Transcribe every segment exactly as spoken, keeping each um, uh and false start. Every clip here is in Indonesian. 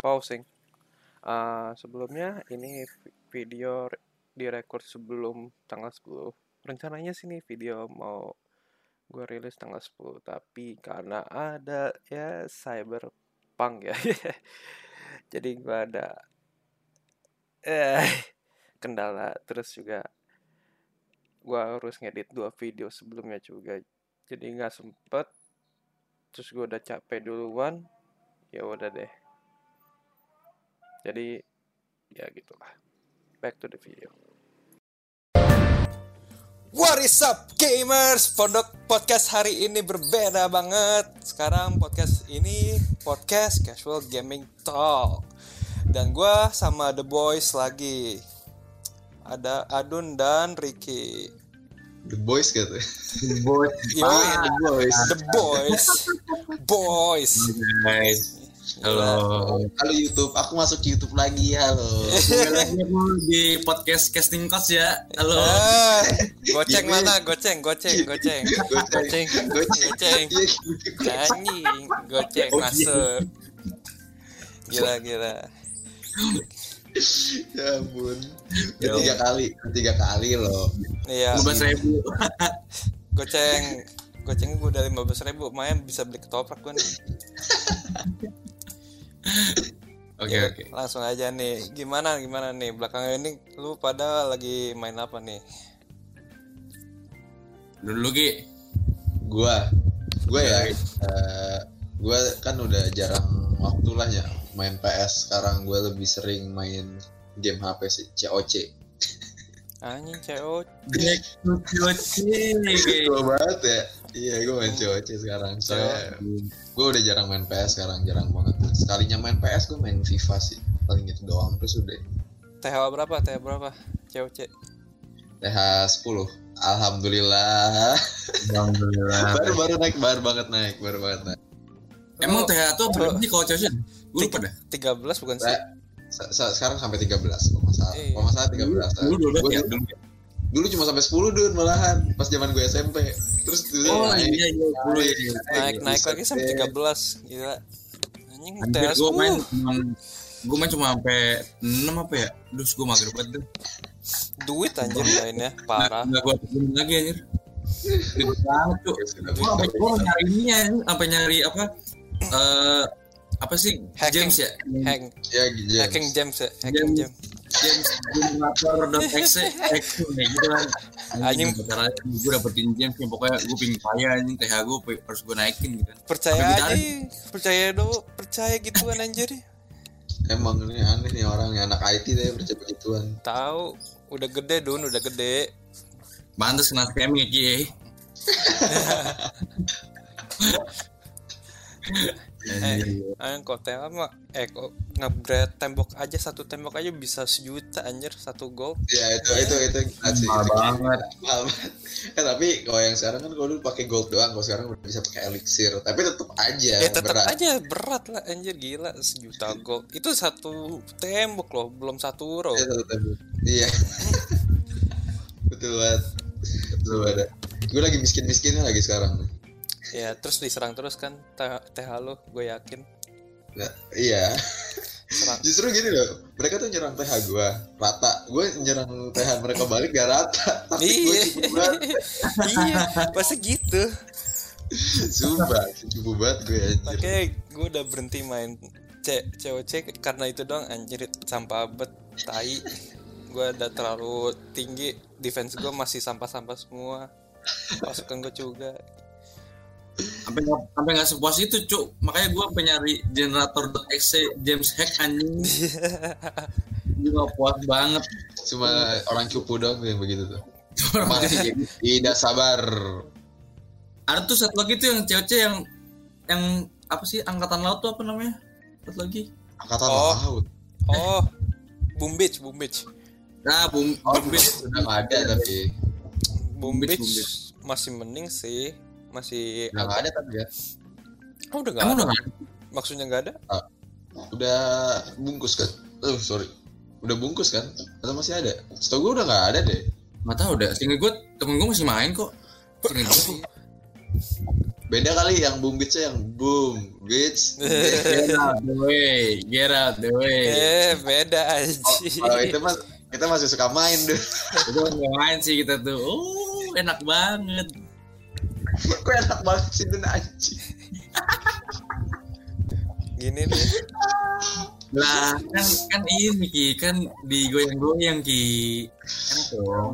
pausing. Uh, sebelumnya ini video direkord sebelum tanggal sepuluh. Rencananya sih nih video mau gue rilis tanggal sepuluh, tapi karena ada ya cyberpunk ya. Jadi gue ada eh kendala, terus juga gue harus ngedit dua video sebelumnya juga. Jadi nggak sempet. Terus gue udah capek duluan. Ya udah deh. Jadi ya gitulah. Back to the video. What is up gamers? Podok podcast hari ini berbeda banget. Sekarang podcast ini podcast casual gaming talk. Dan gue sama The Boys lagi. Ada Adun dan Ricky. The Boys gitu. The Boys. Ah, The Boys. The Boys. Boys. Guys. Halo. Halo YouTube. Aku masuk YouTube lagi. Halo. Kembali lagi aku di podcast Casting Coach ya. Halo. Ah, goceng mana? Goceng, goceng, goceng. Goceng, goceng. Anjing, goceng masuk. Gila, gila. Ya ampun. Ketiga kali, ketiga kali loh. Iya. lima belas ribu. Goceng, goceng gue udah lima belas ribu. Lumayan bisa beli ketoprak gue nih. Oke Ya, oke. langsung aja nih. Gimana gimana nih belakangan ini lu pada lagi main apa nih? Dulu Ki. Gua, gua ya. Uh, gua kan udah jarang waktu lah ya main P S. Sekarang gua lebih sering main game H P sih, C O C. Anjing C O C. Jack Cuci. Gue banget ya. Iya, gue main C O C sekarang. Soalnya gue udah jarang main P S sekarang, jarang banget. Sekalinya main P S gue main FIFA sih, paling gitu doang. Terus udah. T H berapa? T H berapa? C O C. T H sepuluh. Alhamdulillah. Alhamdulillah. baru baru naik, baru banget naik, baru banget naik. Emang T H tuh berapa sih kalau Cuci? Gue lupa dah. tiga belas bukan sih? Se- se- sekarang sampai tiga belas kalau masalah. Iya. Kalau masalah tiga belas. Dulu dulu Gua ya. dulu, Dulu. dulu cuma sampai sepuluh dun malahan pas zaman gue S M P. Terus dulu Oh naik. iya iya dulu ya. Naik naik buset lagi sampai deh. tiga belas. Gila. Anjing T Anjir H gue main sepuluh. cuma gue main cuma sampai enam apa ya? Terus gue mager banget tuh. Duit anjir mainnya parah. Enggak gue pikirin lagi anjir. Ribet banget tuh. Gue sampai gue nyarinya sampai nyari apa? Eh apa sih Hacking. James ya? Hack, Ya James. hacking James ya, hacking James. James Generator.exe exe kayak gitu kan. Anjing. Cara gue dapetin James yang pokoknya gue pingin kaya anjing T H gue harus gue naikin gitu kan. Percaya Sampai aja, ditarik. percaya dong, percaya gituan anjir. Emang ini aneh nih orang yang anak I T deh percaya begituan. Tahu, udah gede Dun, udah gede. Pantes kena scamming ya Ki. Eh, ayo kok T H mah, eh kok nge-upgrade tembok aja, satu tembok aja bisa sejuta anjir, satu gold. Ya itu itu itu asli Mahal itu banget. mahal banget. Eh tapi kalau yang sekarang kan kalau dulu pakai gold doang, kalau sekarang udah bisa pakai elixir. Tapi tetap aja Ya tetap berat. aja berat lah anjir, gila sejuta gold. Itu satu tembok loh, belum satu row. Iya, tetap aja. Iya. Betul banget. Betul banget. Gue lagi miskin-miskinnya lagi sekarang. Ya terus diserang terus kan T H lo, gue yakin. Nah, iya. Serang. Justru gini loh, mereka tuh nyerang T H gue rata, gue nyerang T H mereka balik gak rata. Tapi gue Iya, cukup banget. iya, pasti gitu. Sumpah, cukup banget gue anjir. Makanya gue udah berhenti main C C O C karena itu doang anjir, sampah bet, tai. Gue udah terlalu tinggi, defense gue masih sampah-sampah semua. Pasukan gue juga. Sampai nggak sampai nggak sepuas itu cuk, makanya gue sampai nyari generator.exe James hack anjing. Gue nggak puas banget. Cuma orang cupu doang tuh yang begitu tuh. Orang Masih tidak sabar. Ada tuh satu lagi tuh yang C O C yang yang apa sih angkatan laut tuh apa namanya? Satu lagi. Angkatan Oh. laut. Oh, Boom Beach, Boom Beach. Nah, boom, Oh, boom beach. udah nggak ada tapi. Boom Boom Beach, Beach Boom Beach. masih mending sih, masih. Udah nggak ada tapi ya. Oh, udah nggak Emang ada. udah nggak ada? Maksudnya nggak ada? Udah bungkus kan? Oh sorry. Udah bungkus kan? Atau masih ada? Setahu gue udah nggak ada deh. Nggak tahu dah. Sehingga gue temen gue masih main kok. Sehingga gue Beda kali yang boom beats yang boom beats. Get out the way, get out the way. Eh, beda aja. Kalau itu mah kita masih suka main deh. Itu main sih kita tuh. Oh, enak banget. Kok enak banget sih itu anjing. Gini nih. Lah kan kan ini Ki, kan digoyang-goyang Ki. Kan dong.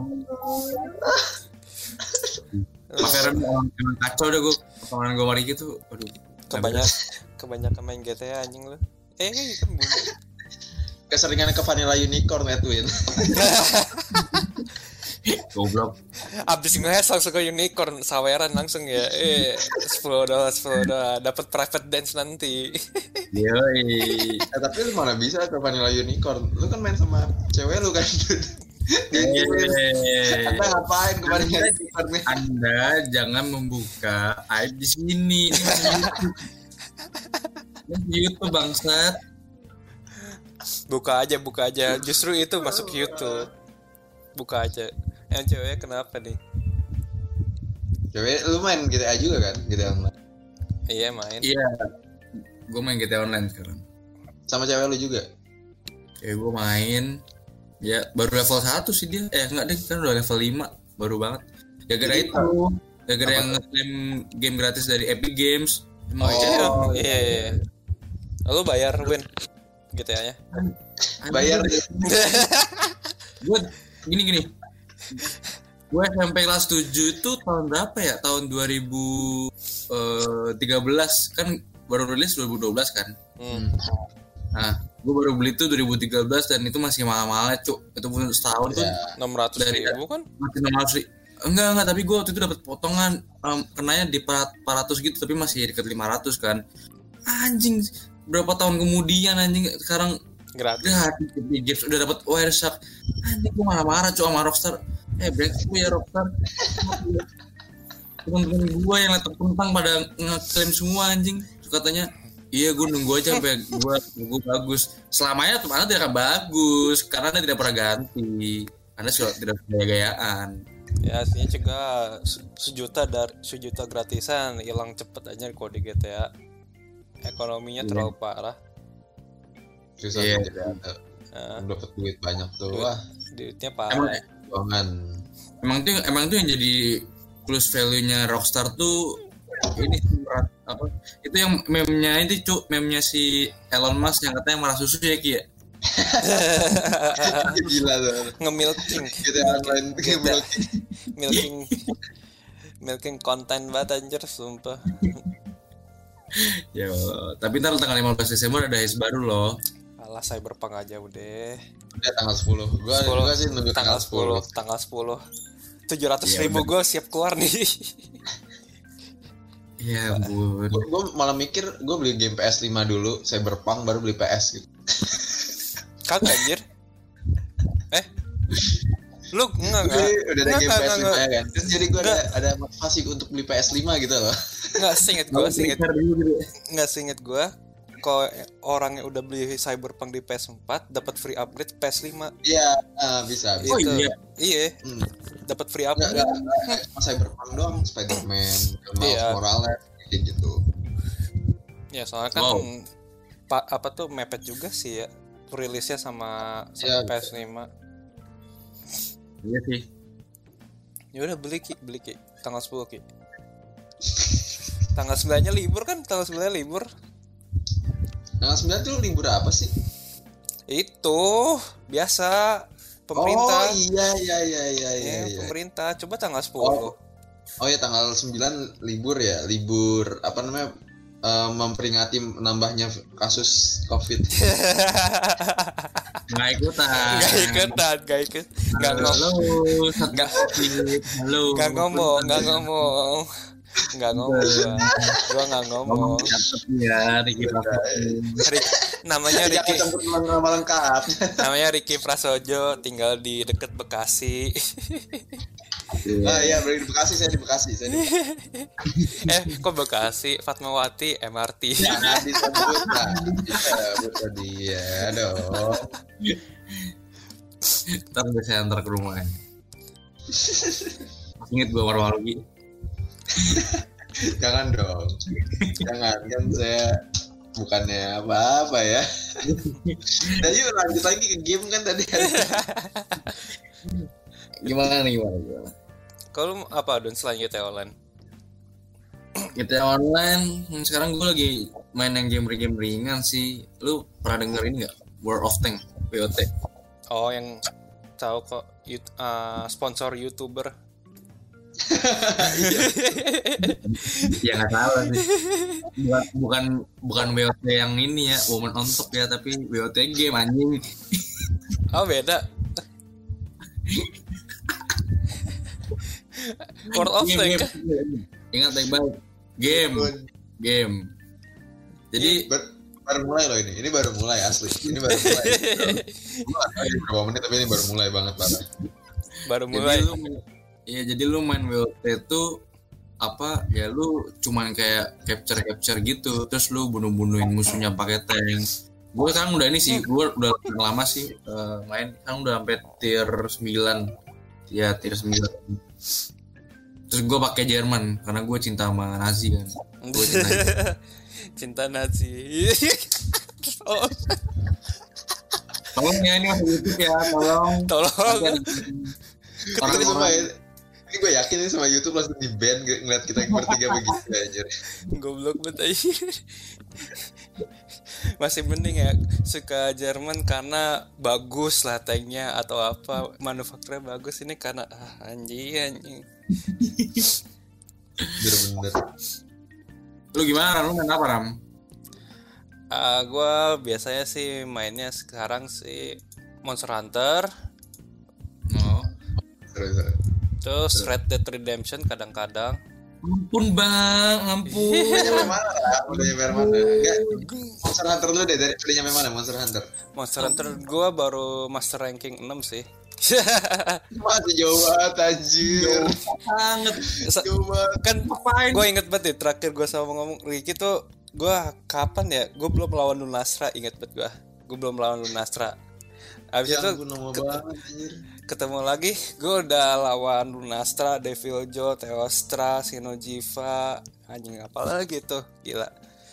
Pak Feren emang kacau deh gue. Pertemanan gue hari gitu. Aduh. Kebanyak kebanyakan main G T A anjing lu. Eh, kan bunyi. Keseringan ke Vanilla Unicorn Edwin. Goblok. Abis nge-hash langsung ke Unicorn, saweran langsung ya. Eh, sepuluh dolar, sepuluh dolar dapat private dance nanti. Yoi. Eh, tapi lu mana bisa ke Vanilla Unicorn? Lu kan main sama cewek lu kan. Eh, Anda ngapain kemarin Unicorn? Anda jangan membuka aib di sini. Ini masih YouTube. Ini YouTube bangsat. Buka aja, buka aja. Justru itu masuk YouTube. Buka aja. Yang ceweknya kenapa nih? Cewek lu main G T A juga kan? G T A online. Iya main. Iya. Gue main G T A online sekarang. Sama cewek lu juga? Ya gue main. Ya baru level satu sih dia. Eh enggak deh, kan udah level lima. Baru banget. Gara-gara Jadi, itu. Gara-gara apa yang ngeklaim game gratis dari Epic Games. Oh, iya, Oh, iya, iya. Lalu bayar Win G T A-nya. bayar Gue gini-gini. Gue S M P kelas tujuh itu tahun berapa ya? Tahun dua ribu tiga belas kan baru rilis dua ribu dua belas kan. Hmm. Nah, gue baru beli itu dua ribu tiga belas dan itu masih mahal-mahalnya, Cuk. Itu pun setahun tuh ya. enam ratus ribu kan? masih enam ratus ribu. Enggak, enggak, tapi gue waktu itu dapat potongan um, kenanya di empat ratus gitu, tapi masih dekat lima ratus kan. Anjing, berapa tahun kemudian anjing sekarang Gratis. gratis Epic Games udah dapat Wireshark. Anjing gue marah-marah Cuk sama Rockstar. Eh, brengsek ya Rockstar. Temen-temen gue yang laptop kentang pada ngeklaim semua anjing. Terus katanya, iya gue nunggu aja sampai gue gue bagus. Selamanya tuh mana tidak akan bagus karena anda tidak pernah ganti. Anda sudah tidak gaya-gayaan. Ya aslinya cegah se- sejuta dari sejuta gratisan hilang cepet aja kode G T A. Ekonominya Iya. terlalu parah. Susah Iya. jadi ada. Nah, Dapat duit banyak tuh. Duit. Wah, duitnya Emang, parah. keuangan. emang tuh emang tuh yang jadi plus value-nya Rockstar tuh ini sih, merah- apa itu yang meme-nya itu Cuk, meme-nya si Elon Musk yang katanya marah susu ya Ki ya. Gila tuh. Nge-milking, Kita online Kita- milking. milking, milking konten banget anjir sumpah. Ya, tapi ntar tanggal lima belas Desember ada H baru loh. Alah Cyberpunk aja udah. Udah tanggal sepuluh. Gua sepuluh gua sih nunggu tanggal sepuluh, tanggal sepuluh. tujuh ratus ribu gue siap keluar nih. Ya ampun. Gua, gua malah mikir gua beli game P S lima dulu, Cyberpunk baru beli P S gitu. Kagak anjir. Eh, lu enggak enggak. Jadi udah ada Enggak, game enggak, P S lima enggak. ya kan. Terus jadi gua ada, Enggak. ada motivasi untuk beli P S lima gitu loh. Enggak seinget gue, seinget enggak seinget gue. Kalau orang yang udah beli Cyberpunk di P S empat dapat free upgrade P S lima. Iya, ah, bisa, bisa. Oh, Itu. iya. Iya, Hmm. dapat free Enggak, upgrade. enggak, enggak, cuma Cyberpunk doang, Spider-Man, Miles Iya. Morales kayak gitu. Ya soalnya kan Wow. pa- apa tuh mepet juga sih ya rilisnya sama, sama Iya. P S lima. Iya sih. Ya udah beli Ki, beli Ki. Tanggal sepuluh Ki. Tanggal sembilan-nya libur kan? Tanggal sembilan libur. Tanggal sembilan tuh libur apa sih? Itu biasa pemerintah. Oh iya iya iya iya Ya, iya. iya. pemerintah. Coba tanggal sepuluh. Oh ya tanggal sembilan libur ya, libur apa namanya? eh, memperingati menambahnya kasus Covid. Nggak ikutan. Gak ikutan, gak ikut. Gak Halo, ngomong. satu Nggak. Covid. Halo. Gak ngomong, gak ngomong. Gak ngomong gua. Gua gak ngomong. Catat ya, Ricky Prasojo. Rik- namanya Jangan Ricky. campur nama lengkap. Namanya Ricky Prasojo, tinggal di deket Bekasi. Ah iya, beli di Bekasi, saya di Bekasi, saya di Bekasi. eh, kok Bekasi? Fatmawati M R T. Jangan disebut lah. Disebut dia dong. Ntar gue saya antar ke rumah. Ingat gue malu-malu gitu. Jangan dong. Jangan kan saya bukannya apa-apa ya. Dan yuk lanjut lagi ke game kan tadi. Gimana nih gimana gimana? Kalau apa Don selain G T A Online? G T A Online sekarang gue lagi main yang game-game ringan sih. Lu pernah denger ini nggak? World of Tanks W O T. Oh yang tahu kok uh, sponsor YouTuber. Ya nggak salah sih. Bukan bukan bukan W O T yang ini ya, Woman on Top ya, tapi W O T game anjing. Oh beda. World of Tanks. Ingat baik-baik. Game, game. Jadi Bar- baru mulai loh ini. Ini baru mulai asli. Ini baru mulai. Gue nggak tahu ini berapa menit tapi ini baru mulai banget parah. Baru mulai. Jadi lu, ya jadi lu main W O T itu apa ya, lu cuman kayak capture capture gitu, terus lu bunuh-bunuhin musuhnya pakai tank. Gue sekarang udah ini sih, gue udah lama sih uh, main, sekarang udah sampai tier sembilan. Ya tier sembilan. Terus gue pakai Jerman karena gue cinta sama Nazi kan. Gue cinta Cinta Nazi. Oh. Tolong ya, ini masuk YouTube ya, tolong. Tolong. Tapi sumpah ya, ini gue yakin ini sama YouTube langsung di ban ngeliat kita bertiga begitu anjir. Goblok banget aja. Masih mending ya suka Jerman karena bagus lah tanknya atau apa, manufakturnya bagus. Ini karena ah, anjing anjing. Bener-bener. Lu gimana? Lu main apa, Ram? Uh, gue biasanya sih mainnya sekarang sih Monster Hunter. Oh. Terus, Terus Red Dead Redemption kadang-kadang. Ampun bang, ampun. udah nyampe mana lah? Udah nyampe mana? Enggak, Monster Hunter dulu deh, dari udah nyampe mana Monster Hunter? Monster Hunter gue baru master ranking enam sih. Masih jauh banget anjir. Banget. Jauh banget. Kan gue inget banget deh terakhir gue sama ngomong Ricky tuh, gue kapan ya, gue belum melawan Lunastra, inget banget gue gue belum melawan Lunastra. Abis Ya itu ampun, lama banget anjir. ketemu lagi, gue udah lawan Lunastra, Devil Joe, Teostra, Shinojiva, anjing apa lagi tuh, gila.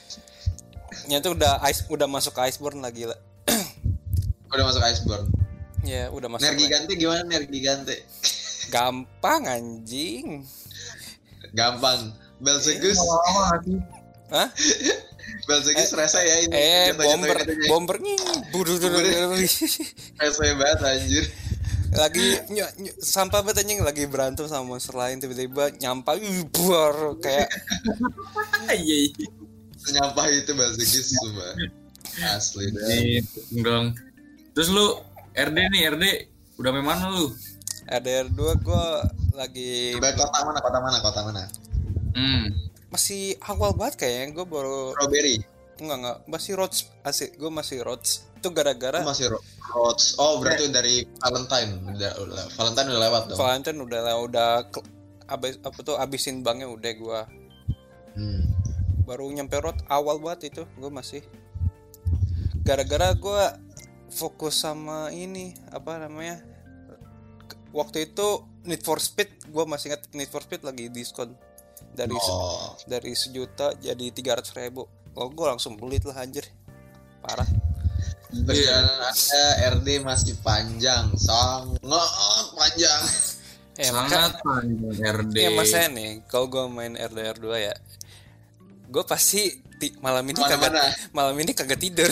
Nyata udah ice, udah masuk ke Iceborne lah, gila. Udah masuk Iceborne. Ya udah masuk. Nergi Gante gimana Nergi Gante? Gampang anjing. Gampang. Belzegus. Hah? Belzegus rasa ya ini. Eh, Jatuh-jatuh bomber, katanya. bomber nih, budu budu Rasa banget anjir. lagi ny- ny- sampah banget anjing, lagi berantem sama monster lain, tiba-tiba nyampah, ih, buar kayak Iya. Senyampah itu Belzegus semua. Asli dah. Dong. Terus lu R D nih, R D udah main mana lu? R D R dua gue lagi Coba kota mana? Kota mana? Kota mana? Hmm. masih awal banget kayaknya, gue baru Strawberry. enggak enggak masih Rhodes, asik gue masih Rhodes itu gara-gara Itu masih Ro- Rhodes. Oh, berarti dari Valentine. Udah, udah Valentine udah lewat dong. Valentine udah udah ke- abis apa tuh abisin banknya udah gue Hmm. baru nyampe Rhodes awal banget itu, gue masih gara-gara gue fokus sama ini apa namanya, waktu itu Need for Speed, gue masih ingat Need for Speed lagi diskon dari se- Oh. dari sejuta jadi tiga ratus ribu. Oh, gue langsung beli lah anjir, parah. Perjalanan Anda R D masih panjang, sangat panjang. Eh, maka, Sangat panjang R D. ya maksudnya nih, kalau gue main R D R dua ya, gue pasti ti- malam ini kagak Mana-mana. malam ini kagak tidur.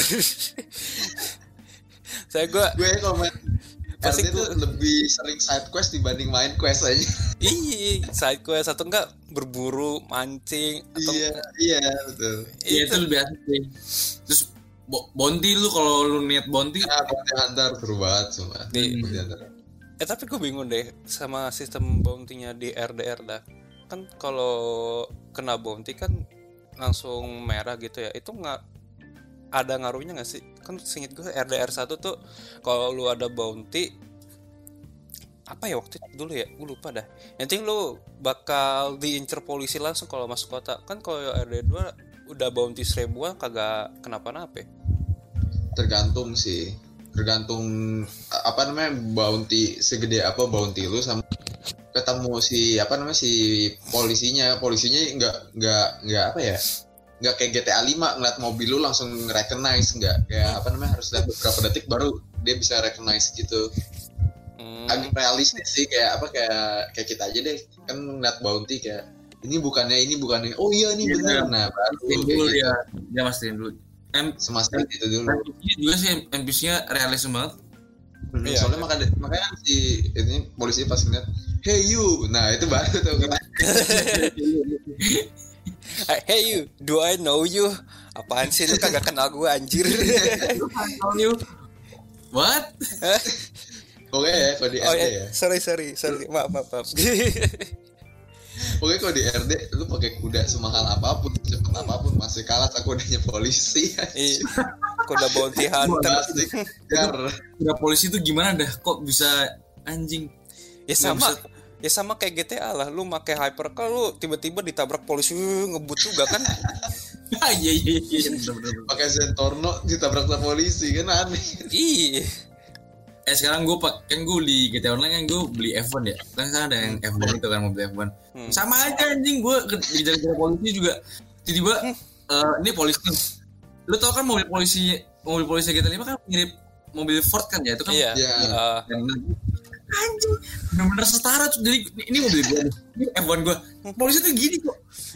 Saya gue Gue kalau main Pasti R D tuh gua- lebih sering side quest dibanding main quest aja. Iya, side quest atau enggak berburu, mancing atau Iya, iya betul. Iya itu itu. lebih asik sih. Terus bo- bounty lu kalau lu niat bounty Nah, Bounty Hunter seru banget semua. Di- Bounty Hunter. Eh tapi gue bingung deh sama sistem bounty-nya di R D R dah. Kan kalau kena bounty kan langsung merah gitu ya. Itu nggak ada ngaruhnya nggak sih? Kan seinget gue R D R satu tuh kalau lu ada bounty apa ya waktu itu dulu ya, gue lupa dah. Yang penting lu bakal diincer polisi langsung kalau masuk kota. Kan kalau R D R dua udah bounty seribuan kagak kenapa-napa. Tergantung sih. Tergantung apa namanya bounty segede apa bounty lu sama ketemu si apa namanya si polisinya, polisinya nggak nggak nggak apa ya, nggak kayak G T A lima ngeliat mobil lu langsung recognize, nggak kayak apa namanya harus lihat beberapa detik baru dia bisa recognize gitu. Hmm. Agak realistis sih, kayak apa kayak kayak kita aja deh kan ngeliat bounty kayak ini bukannya ini bukannya oh iya ini Iya, bener, nah baru Mastiin kayak dulu gitu. dia, dia mastiin dulu. M Semastiin itu dulu. N P C juga sih N P C-nya realistis banget. Hmm, Iya, soalnya iya. makanya makanya si ini polisi pas ngeliat hey you, nah itu baru tuh kata Hey you, do I know you? Apaan sih lu kagak kenal gue anjir? What? pokoknya ya kalau di Oh R D ya, ya sorry sorry sorry, maaf maaf maaf. pokoknya kalau di R D lu pakai kuda semahal apapun cepet apapun masih kalah sama kudanya polisi. Ih, kuda bounty hunter. Masih kejar. Udah polisi tuh gimana dah? Kok bisa anjing? Ya Nggak sama, bisa- ya sama kayak G T A lah. Lu pakai hypercar, lu tiba-tiba ditabrak polisi, uh, ngebut juga kan? Ah iya iya iya bener-bener. Pakai Zentorno ditabrak sama polisi kan aneh. Ih, Eh sekarang gue pak kan gue di G T A Online kan gue beli F satu ya. Kan sekarang ada yang F satu itu kan mobil F satu. Hmm. Sama aja anjing gue dikejar-kejar polisi juga. Tiba-tiba eh, ini polisi. Lu tau kan mobil polisi mobil polisi G T A lima kan mirip mobil Ford kan ya itu kan. iya. Iya. Eh, Dan anjing bener-bener setara tuh. Jadi ini mobil gue nih. Ini F satu gue. Polisi tuh gini kok.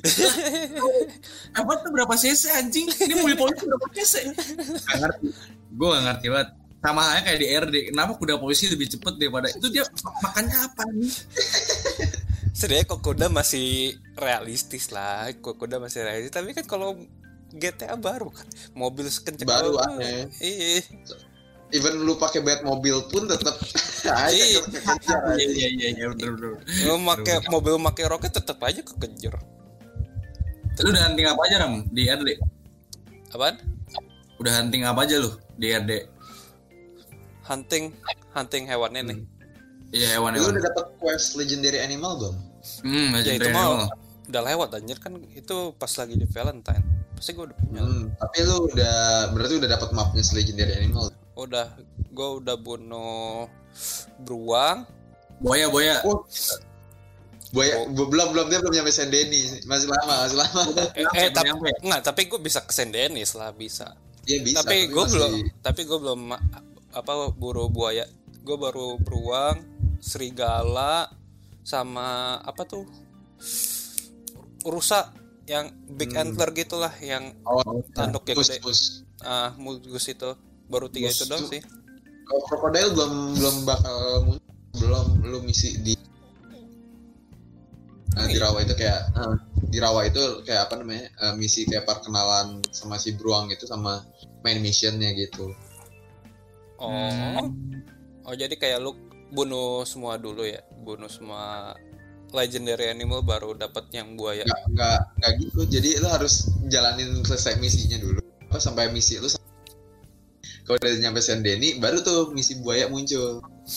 F satu tuh berapa cc anjing? Ini mobil polisi berapa cc? Gak ngerti. Gue gak ngerti banget. Sama halnya kayak di R D. Kenapa kuda polisi lebih cepet daripada itu, dia makannya apa nih? sebenarnya kok kuda masih realistis lah, kok kuda masih realistis. Tapi kan kalau G T A baru kan, mobil sekencang Baru apa, aneh. Iya. Even lu pakai bat mobil pun tetap aja Iya. kekejar. Iya iya iya iya bener bener. Lu pakai mobil pakai roket tetap aja kekejar. Lu udah hunting apa aja Ram di R D? Apaan? Udah hunting apa aja lu di R D? Hunting, hunting hewannya nih. Iya Lu hewan-hewan. udah dapet quest legendary animal belum? Hmm, Ya itu legendary mah animal. udah lewat anjir kan, itu pas lagi di Valentine. Pasti gue udah punya. Hmm, tapi lu udah berarti udah dapat mapnya legendary animal. Udah, gue udah bunuh beruang. Buaya buaya. Oh. Buaya, bu- belum belum dia belum nyampe Saint Denis, masih lama, masih lama. Eh, Nyampe, eh tapi nyampe. nggak, tapi gue bisa ke Saint Denis lah, bisa. Iya bisa. tapi gue masih- belum, tapi gue belum apa buru buaya. Gue baru beruang, serigala, sama apa tuh rusa yang big Hmm. antler gitulah, yang Oh, tanduknya mus, gede. mus. Ah, mulgus itu. Baru tiga Mus itu doang tuh. sih. Kalau krokodil belum belum bakal muncul, belum lu misi di Nah, di rawa itu kayak eh, di rawa itu kayak apa namanya eh, misi kayak perkenalan sama si beruang itu sama main missionnya gitu. Oh, oh jadi kayak lu bunuh semua dulu ya, bunuh semua legendary animal baru dapat yang buaya. Nggak nggak nggak gitu. Jadi lu harus jalanin selesai misinya dulu. Apa sampai misi lu kalau udah nyampe Saint Denis baru tuh misi buaya muncul.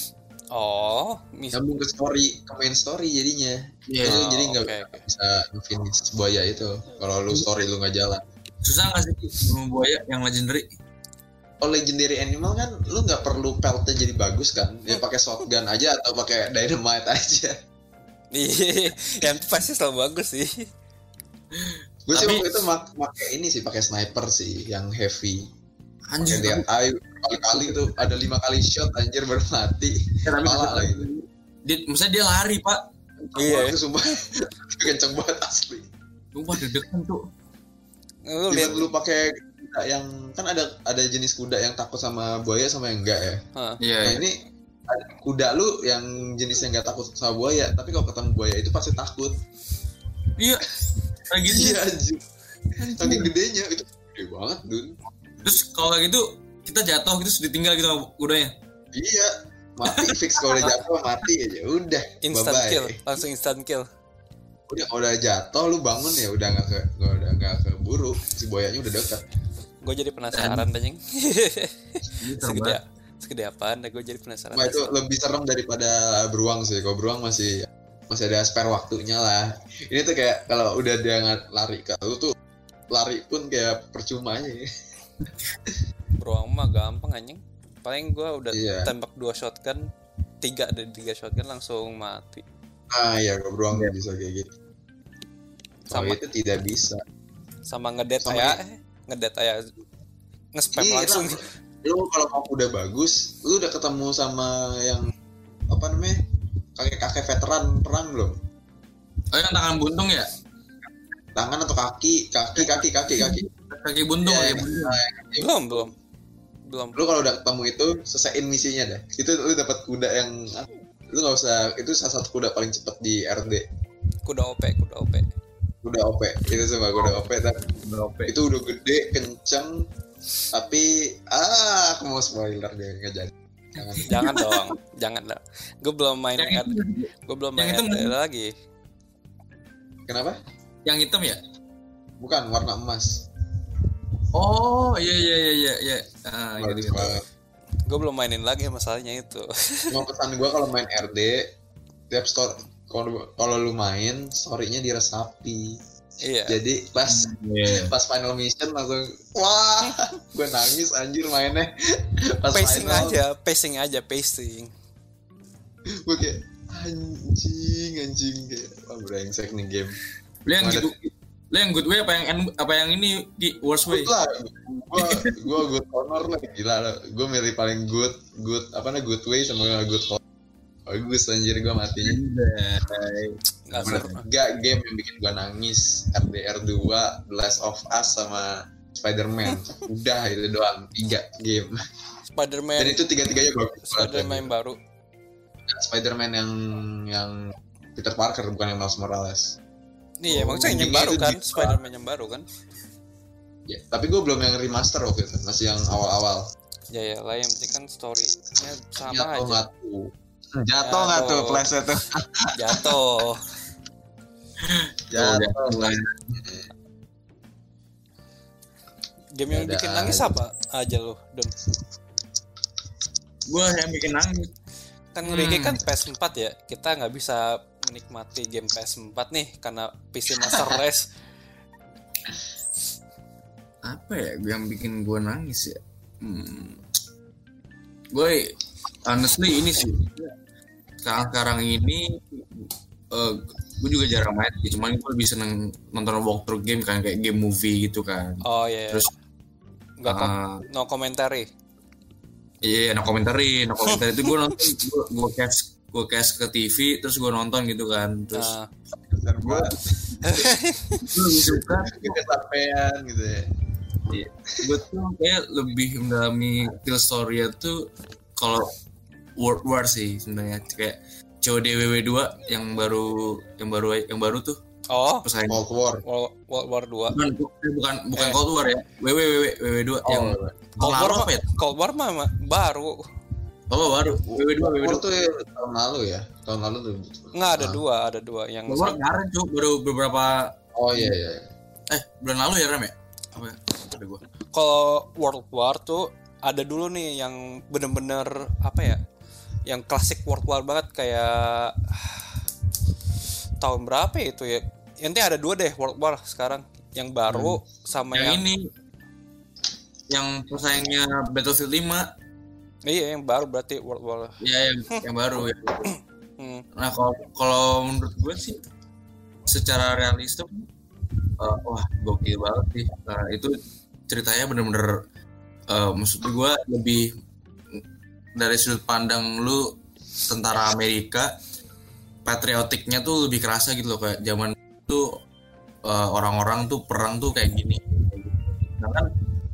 Oh, mis- Nyambung ke story, ke main story jadinya. Iya. Jadi- Oh, jadi nggak oke, oke. bisa finish buaya itu kalau lu story lu nggak jalan. Susah nggak sih bunuh buaya yang legendary? Kalau legendary animal kan lu nggak perlu peltnya jadi bagus kan, ya pakai shotgun aja atau pakai dynamite aja. Iya, yang pasti selalu bagus sih. Gue sih Tapi- waktu itu mak pakai ini sih, pakai sniper sih yang heavy. Pakai Anjir. lihat ayo kali-kali tuh ada lima kali shot anjir baru mati. Ya, tapi Kepala lah gitu. dia, maksudnya dia lari pak. Iya. Itu sumpah kenceng banget asli. Sumpah deg-degan tuh. Lu Even lihat, lu pakai kuda yang kan ada ada jenis kuda yang takut sama buaya sama yang enggak ya. Hah. Iya. Nah ini ada kuda lu yang jenisnya nggak takut sama buaya, tapi kalau ketemu buaya itu pasti takut. Iya. Kayak gitu. Iya anjir. Saking gedenya itu gede banget dun. Terus kalau kayak gitu kita jatuh gitu terus ditinggal gitu sama kudanya. Iya, mati fix kalau udah jatuh mati aja. Udah, instant bye-bye. kill, langsung instant kill. Udah udah jatuh lu bangun ya udah nggak ke nggak udah nggak keburu, si buayanya udah dekat. Gue jadi penasaran anjing. Ini serem segede banget. segede apaan? Gue jadi penasaran. Wah itu lebih serem daripada beruang sih. Kalau beruang masih masih ada spare waktunya lah. Ini tuh kayak kalau udah dia nggak lari ke lu tuh lari pun kayak percuma aja. Ya. Beruang mah gampang anjing. Paling gue udah Iya. tembak dua shotgun, tiga dari tiga shotgun langsung mati. Ah ya, gue beruang Iya. bisa kayak gitu. Kalau Sama itu tidak bisa. sama ngedet Sama aya, eh, ngedet aya nge-spam Iya, langsung. lu kalau mau udah bagus, lu udah ketemu sama yang apa namanya kakek-kakek veteran perang belum? Oh yang tangan buntung ya? Tangan atau kaki, kaki, kaki, kaki, kaki. Kaki buntung, Iya, kaki buntung. nah, Belum, belum. Belum. lu kalau udah ketemu itu selesaiin misinya deh. Itu lu dapat kuda yang lu nggak usah, itu salah satu kuda paling cepet di R D. Kuda O P, kuda O P. Kuda O P itu semua kuda O P tapi Berapa? itu udah gede kenceng tapi ah aku mau spoiler deh nggak jadi. Jangan. Jangan dong, jangan dong. Gue belum main Yang R D, gue belum main yang itu R D lagi. Kenapa? Yang hitam ya? Bukan warna emas. Oh iya iya iya iya. iya. Ah, iya, Bagus iya. banget. Gue belum mainin lagi masalahnya itu. Cuma pesan gue kalau main R D tiap store kalau kalau lu main story-nya diresapi. Iya. Jadi pas Iya. pas final mission langsung wah gue nangis anjir mainnya. Pas Pacing final aja, pacing aja, pacing. gue kayak anjing anjing kayak wah brengsek nih game. Lu yang Ada- gitu, lu yang good way apa yang end- apa yang ini di worst way? Good lah, gue gue good honor lah gila lah. Gue milih paling good good apa namanya good way sama good honor. Bagus anjir gue matinya. Nggak seru. Gak game yang bikin gue nangis R D R dua, The Last of Us sama Spider-Man. Udah itu doang tiga game. Dan Spider-Man, itu tiga-tiganya bagus. Spider-Man yang baru. Spider-Man yang yang Peter Parker bukan yang Miles Morales. Iya, emang yang Endingnya baru itu kan, di- Spider-Man yang baru kan. Ya, tapi gue belum yang remaster waktu itu, masih yang awal-awal. Ya ya lah, yang penting kan story-nya sama Jatuh aja. nggak tuh? Jatuh nggak tuh Jatuh. flashnya tuh? Jatuh. Jatuh. Game yang Ada bikin nangis aja. apa aja lo, Don? Gue yang bikin nangis. Kan Hmm. Ricky kan P S empat ya. Kita nggak bisa menikmati game P S empat nih karena P C Master Race. Apa ya yang bikin gue nangis ya? Hmm. Gue honestly ini sih sekarang sekarang ini uh, gue juga jarang main sih, cuman gue lebih seneng nonton walkthrough game kan kayak game movie gitu kan. Oh iya. Terus nggak kom- uh, no commentary. iya no komentari, no komentari itu gue nonton gue gue cash gue cash ke T V terus gue nonton gitu kan. Terus Nah, Dan gue gue lebih suka kecapean gitu ya. gue tuh kayak lebih mendalami feel story tuh kalau World War sih sebenarnya kayak C O D W W dua yang baru yang baru yang baru tuh oh, pesaing Cold War. World, World War dua. bukan bukan bukan Eh. Cold War ya W W W W W dua yang Cold tahun War lalu mah, apa ya? Cold War mah mah baru. Oh baru W W dua W W Cold War dua tuh ya, tahun lalu ya. Tahun lalu tuh. Nggak ada Ah. dua, ada dua yang Cold War kemarin cuy baru beberapa Oh iya iya. eh bulan lalu ya Ram ya apa ya? Ada gua kalau World War tuh ada dulu nih yang bener-bener apa ya, yang klasik World War banget kayak tahun berapa ya itu ya, nanti ada dua deh World War sekarang, yang baru sama yang yang, ini yang pesaingnya Battlefield lima iya yang baru berarti World War. ya yang yang baru ya. Hmm. Nah kalau kalau menurut gue sih secara realistis uh, wah gokil banget sih. Nah, itu ceritanya bener-bener uh, maksud gue lebih dari sudut pandang lu tentara Amerika, patriotiknya tuh lebih kerasa gitu loh kayak zaman itu uh, orang-orang tuh perang tuh kayak gini. Nah kan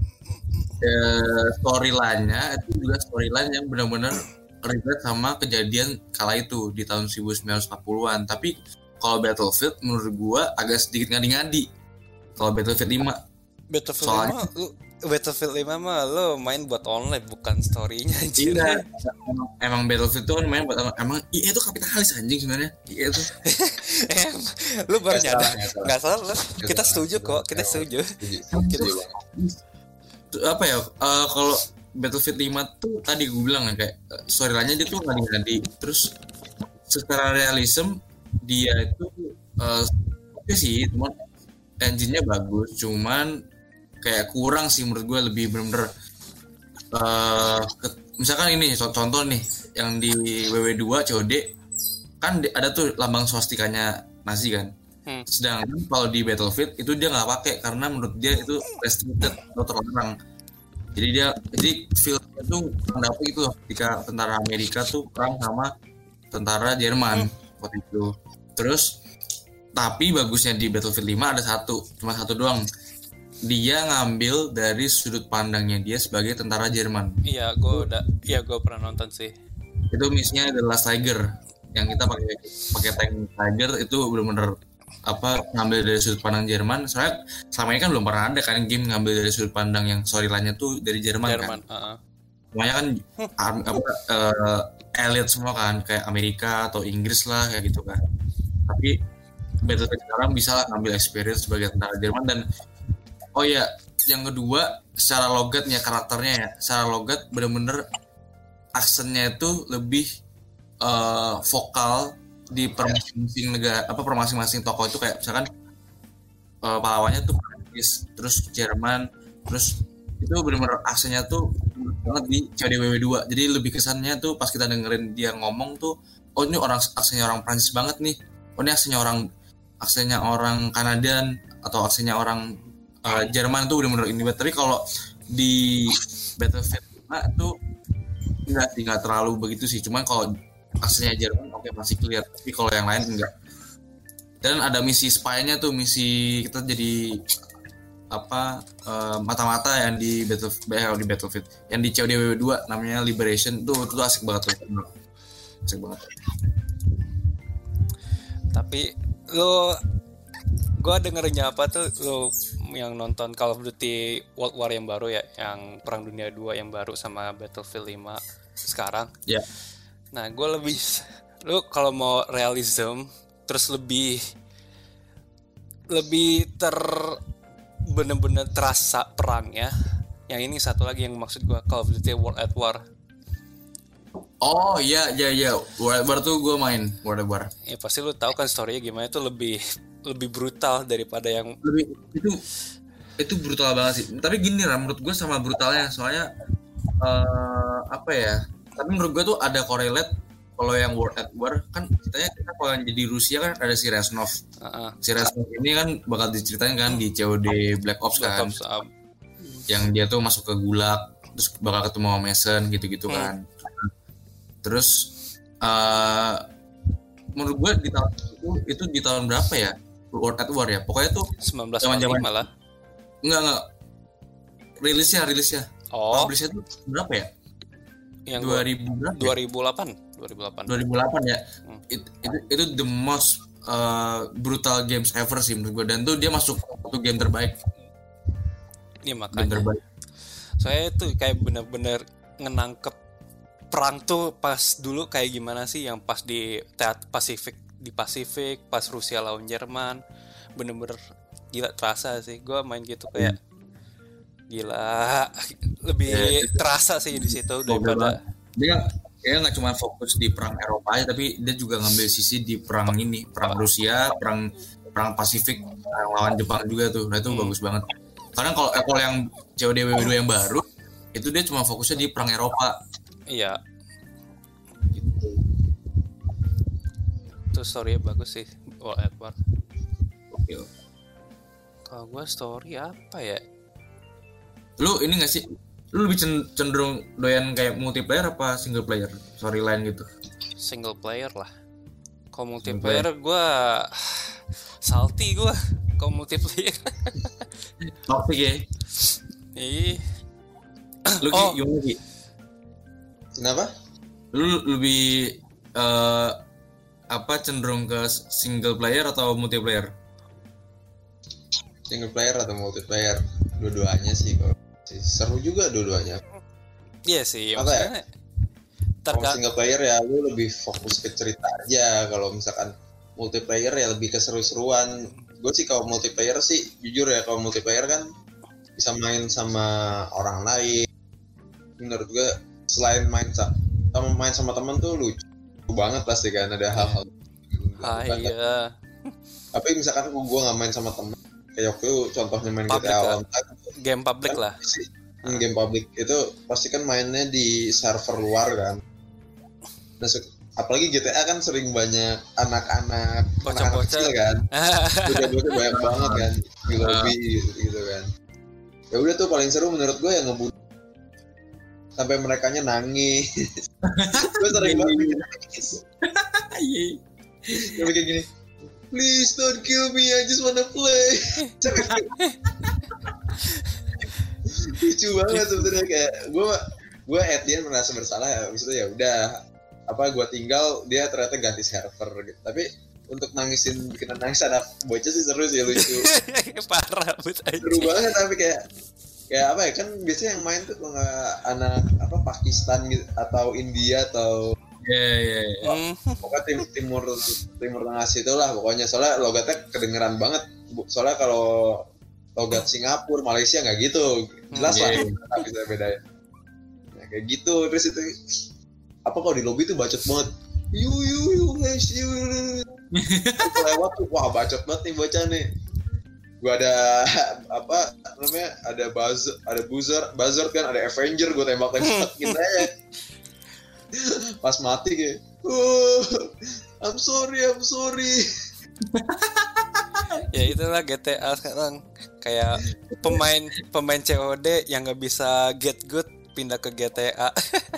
uh, storyline-nya itu juga storyline yang benar-benar relate sama kejadian kala itu di tahun seribu sembilan ratus empat puluhan. Tapi kalau Battlefield menurut gua agak sedikit ngadi-ngadi. Kalau Battlefield lima Battlefield Soalnya- lima lu Battlefield lima mah lo main buat online bukan story-nya anjir. Iya, emang, emang Battlefield tuh kan main buat emang iya itu kapitalis anjing sebenarnya. Iya itu. Em, lu baru Nggak nyadar salah, nggak salah. nggak salah lu. Nggak Kita salah. setuju kok, kita setuju. Setuju. Kita- Setuju banget. Tuh, apa ya? uh, kalau Battlefield lima tuh tadi gue bilang kan kayak uh, storyline-nya dia tuh ngadi-ngadi. Terus secara realism dia itu uh, oke sih, cuman engine-nya bagus, cuman kayak kurang sih menurut gue lebih bener-bener uh, ke- misalkan ini co- contoh nih yang di W W dua C O D kan ada tuh lambang swastikanya Nazi kan. Hmm. Sedangkan kalau di Battlefield itu dia nggak pakai karena menurut dia itu restricted atau terlarang. Jadi dia jadi fieldnya tuh mendapat itu ketika tentara Amerika tuh perang sama tentara Jerman hmm. waktu itu. Terus tapi bagusnya di Battlefield lima ada satu, cuma satu doang. Dia ngambil dari sudut pandangnya dia sebagai tentara Jerman. Iya, gue udah, iya gue pernah nonton sih. Itu misinya adalah Tiger. Yang kita pakai pakai tank Tiger itu benar-benar apa ngambil dari sudut pandang Jerman. Soalnya selama ini kan belum pernah ada kan game ngambil dari sudut pandang yang storyline-nya tuh dari Jerman, Jerman kan. Uh-huh. Semuanya kan um, apa uh, elite semua kan kayak Amerika atau Inggris lah kayak gitu kan. Tapi Battlefield sekarang bisa lah ngambil experience sebagai tentara Jerman. Dan oh ya, yang kedua secara logatnya karakternya ya, secara logat benar-benar aksennya itu lebih Uh, vokal di per masing-masing negara apa per masing-masing tokoh itu kayak misalkan uh, pahlawannya tuh Prancis, terus Jerman, terus itu benar-benar aksennya tuh banget di C O D W W dua. Jadi lebih kesannya tuh pas kita dengerin dia ngomong tuh, oh ini orang aksennya orang Prancis banget nih, oh ini aksennya orang aksennya orang Kanadian atau aksennya orang uh, Jerman tuh benar-benar ini. Tapi kalau di Battlefield lima tuh enggak sih, enggak terlalu begitu sih, cuman kalau aslinya Jerman oke okay, masih clear, tapi kalau yang lain enggak. Dan ada misi spy-nya tuh, misi kita jadi apa uh, mata-mata yang di Battlefield eh, di Battlefield yang di C O D W W dua namanya Liberation tuh, itu asik banget tuh. Asik banget. Tapi lo gue dengernya apa tuh lo yang nonton Call of Duty World War yang baru ya, yang Perang Dunia dua yang baru sama Battlefield lima sekarang. Ya. Yeah. Nah, gue lebih, lu kalau mau realism, terus lebih, lebih ter, bener-bener terasa perangnya. Yang ini satu lagi yang maksud gue, Call of Duty World at War. Oh iya, iya, iya, World at War tuh gue main, World at War. Ya pasti lu tahu kan story-nya gimana, itu lebih, lebih brutal daripada yang... Lebih, itu, itu brutal banget sih. Tapi gini lah, menurut gue sama brutalnya, soalnya, uh, apa ya... Tapi menurut gue tuh ada correlate. Kalau yang World at War kan ceritanya kita kalau yang jadi Rusia kan ada si Reznov. Uh-uh. Si Reznov ini kan bakal diceritain kan di C O D Black Ops Black kan. Ops, um. Yang dia tuh masuk ke Gulag terus bakal ketemu sama Mason gitu-gitu hmm. kan. Terus uh, menurut gue di tahun itu itu di tahun berapa ya? World at War ya. Pokoknya tuh sembilan belas zaman malah. Enggak enggak. Rilisnya rilisnya. Oh. Rilisnya tuh berapa ya? Yang dua ribu berapa? dua ribu delapan dua ribu delapan dua ribu delapan ya. Hmm. It, itu itu the most uh, brutal games ever sih menurut gue, dan tuh dia masuk satu game terbaik. Iya makanya. Game terbaik. Saya tuh kayak benar-benar ngenangkep perang tuh pas dulu kayak gimana sih, yang pas di Teat Pasifik di Pasifik pas Rusia lawan Jerman, bener-bener gila terasa sih. Gue main gitu kayak hmm. gila, lebih ya, terasa sih di situ daripada dia dia nggak cuma fokus di perang Eropa aja, tapi dia juga ngambil sisi di perang ini, perang Rusia, perang perang Pasifik, perang lawan Jepang juga tuh. Nah itu hmm. bagus banget. Karena kalau kalau yang C O D W W dua yang baru itu dia cuma fokusnya di perang Eropa. Iya. Gitu. Itu story-nya bagus sih, World at War. Oke. Kalau gue story apa ya? Lu ini nggak sih, lu lebih cenderung doyan kayak multiplayer apa single player storyline gitu? Single player lah. Kalau multiplayer gue salty gue. Kalau multiplayer toxic ya. Ih. Lu oh. gimana Ki? Kenapa? Lu lebih uh, apa cenderung ke single player atau multiplayer? Single player atau multiplayer? Dua-duanya sih kalau seru juga dua-duanya. Iya sih. Apa ya? Terga- kalau single player ya lu lebih fokus ke cerita aja. Kalau misalkan multiplayer ya lebih ke seru-seruan. Gue sih kalau multiplayer sih jujur ya, kalau multiplayer kan bisa main sama orang lain. Menurut gue selain main sama main sama teman tuh lucu banget pasti kan, ada hal-hal. Ah iya. Tapi misalkan gue nggak main sama teman, kayak waktu contohnya main G T A Online, game public kan, lah. Game public itu pasti kan mainnya di server luar kan. Nah, apalagi G T A kan sering banyak anak-anak anak-anak Bocah-bocah. kecil kan, bocah-bocah banyak banget kan di lobby gitu, gitu kan. Ya udah tuh paling seru menurut gue yang ngebunuh sampai merekanya nangis. Gue sering banget bikin nangis. Dia kayak gini, please don't kill me, I just wanna play. Lucu banget sebenarnya, kayak gue gue at the end merasa bersalah ya, abis itu ya udah apa gue tinggal, dia ternyata ganti server gitu. Tapi untuk nangisin bikin nangis anak bocah sih seru sih, lucu. Parah bos aja. Seru banget, tapi kayak kayak apa ya, kan biasanya yang main tuh kalau nggak anak apa Pakistan gitu atau India atau Iya iya iya. pokoknya tim timur timur tengah situ lah pokoknya, soalnya logatnya kedengeran banget. Soalnya kalau logat Singapura, Malaysia nggak gitu, jelas lah Yeah. tapi bisa bedain. Nah, kayak gitu. Terus itu apa kalau di lobby tuh bacot banget, yu yu yu guys yu. Lewat tuh wah bacot banget nih bocah nih. Gua ada apa namanya, ada buzzer, ada buzzer, buzzer kan, ada Avenger, gua tembak-tembakin aja. Pas mati kayak, oh, I'm sorry, I'm sorry. Ya itulah G T A sekarang, kayak pemain pemain C O D yang nggak bisa get good pindah ke G T A.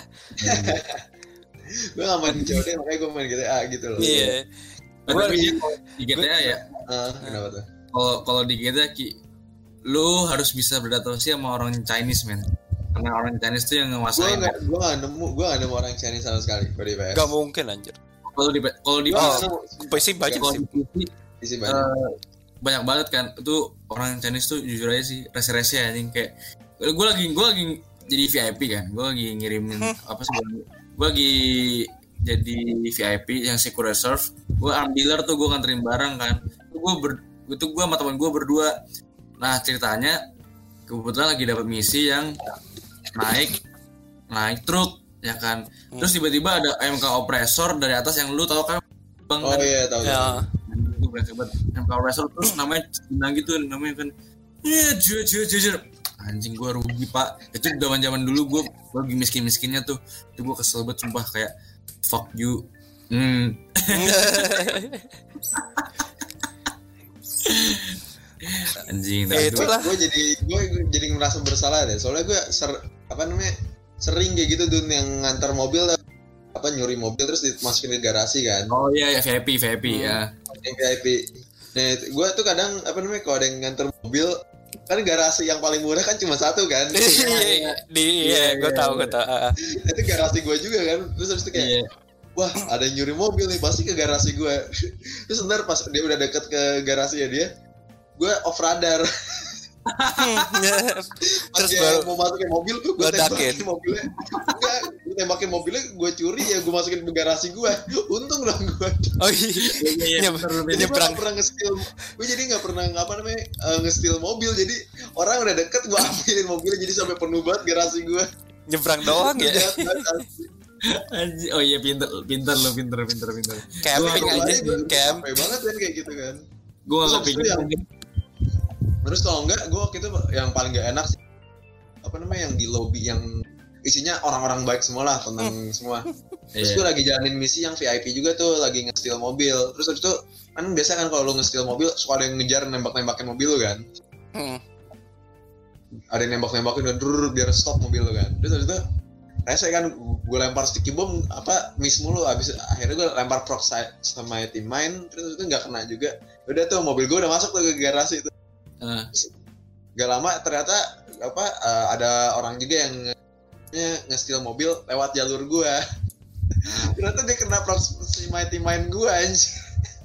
Gue gak main C O D, makanya gue main G T A gitu loh. Iya. Tapi dia kalau di G T A ya, Ah, kenapa tuh? kalau kalau di G T A Ki, lu harus bisa beradaptasi sama orang Chinese men. Karena orang Chinese tuh yang Gue nguasain. gak, gue gak nemu, gue gak nemu orang Chinese sama sekali kalau di P S. Gak mungkin anjir. Kalau di kalau di Gue Oh, gak nemu. P C banyak kalau sih. di P C Isi banyak. eh, banyak banget kan. Itu orang Chinese tuh jujur aja sih rese-rese anjing, kayak gue lagi gue lagi jadi V I P kan. Gue lagi ngirimin apa sih? Gue lagi jadi V I P yang Secure Reserve. Gue arm dealer tuh, gue nganterin barang kan. Gue ber itu gue sama teman gue berdua. Nah ceritanya kebetulan lagi dapat misi yang naik naik truk ya kan. Terus tiba-tiba ada M K oppressor dari atas yang lu tahu kan bang. Oh kan? iya, tahu. Ya. Itu berasa banget. M K oppressor terus namanya Cina gitu namanya kan. Iya jujur jujur jujur. Anjing gue rugi pak. Itu zaman zaman dulu gue gue lagi miskin miskinnya tuh. Itu gue kesel banget sumpah, kayak fuck you. Hmm. Anjing. Ya, tapi itulah. Gue jadi gue jadi merasa bersalah deh. Soalnya gue ser, apa namanya sering kayak gitu Dun, yang ngantar mobil apa nyuri mobil terus dimasukin ke garasi kan. Oh iya ya V I P V I P ya. Yang V I P. Nah, gue tuh kadang apa namanya kalau ada yang ngantar mobil, kan garasi yang paling murah kan cuma satu kan. Iya, di iya, gue tahu gue tahu. Ah, ah. Itu garasi gue juga kan. Terus habis itu kayak, Iya. wah ada yang nyuri mobil nih, pasti ke garasi gue. Terus ntar pas dia udah deket ke garasi ya dia, gue off radar. Pas Terus dia baru mau masukin mobil, gue ledakin. tembakin mobilnya. Enggak, gue tembakin mobilnya, gue curi ya, gue masukin ke garasi gue. Untung dong gue. oh iya, iya, Nyeb- bener, bener. Jadi gue nyebrang. gak pernah nge-steal, gue jadi gak pernah apa namanya uh, nge-steal mobil. Jadi orang udah deket, gue ambilin mobilnya, jadi sampai penuh banget garasi gue. nyebrang doang ya. Jahat banget asli. Anjing. Oh iya pinter pinter lo pinter pinter pinter. Camping Gua aja, gue camp. capek banget kan kayak gitu kan. Gue Terus nggak habis itu kepikiran. yang- Terus kalau enggak, gue waktu itu yang paling gak enak sih, apa namanya, yang di lobby yang isinya orang-orang baik semua lah, tenang semua. Terus gue Iya. lagi jalanin misi yang V I P juga tuh, lagi nge-steal mobil. Terus habis itu kan biasa kan kalau lu nge-steal mobil suka ada yang ngejar nembak-nembakin mobil lu kan. Hmm. Ada yang nembak-nembakin dan drrrr, biar stop mobil lu kan. Terus habis itu rese kan, gue lempar sticky bomb apa miss mulu. Abis akhirnya gue lempar proxy sama tim main, terus habis itu nggak kena juga. Udah tuh mobil gue udah masuk tuh ke garasi itu. Ah. Gak lama ternyata apa uh, ada orang juga yang nge- nge-steal mobil lewat jalur gua. Ternyata dia kena proxy mighty main gua anjir.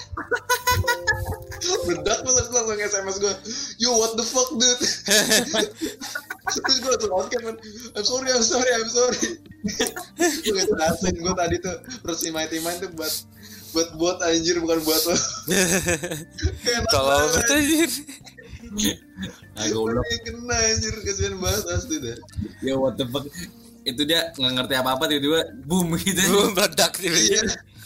Bedak terus aku langsung S M S gua, yo what the fuck dude. Terus gua langsung on cam, I'm sorry I'm sorry I'm sorry. Gue gak jelasin, gua tadi tuh proxy mighty main tuh buat buat buat anjir, bukan buat lo. Kalau bertanya Ah, goblok. Dia kena anjir, kasihan banget asli deh. Ya what the fuck. Itu dia nggak ngerti apa-apa tiba-tiba boom gitu. belum meledak Iya. tiba-tiba.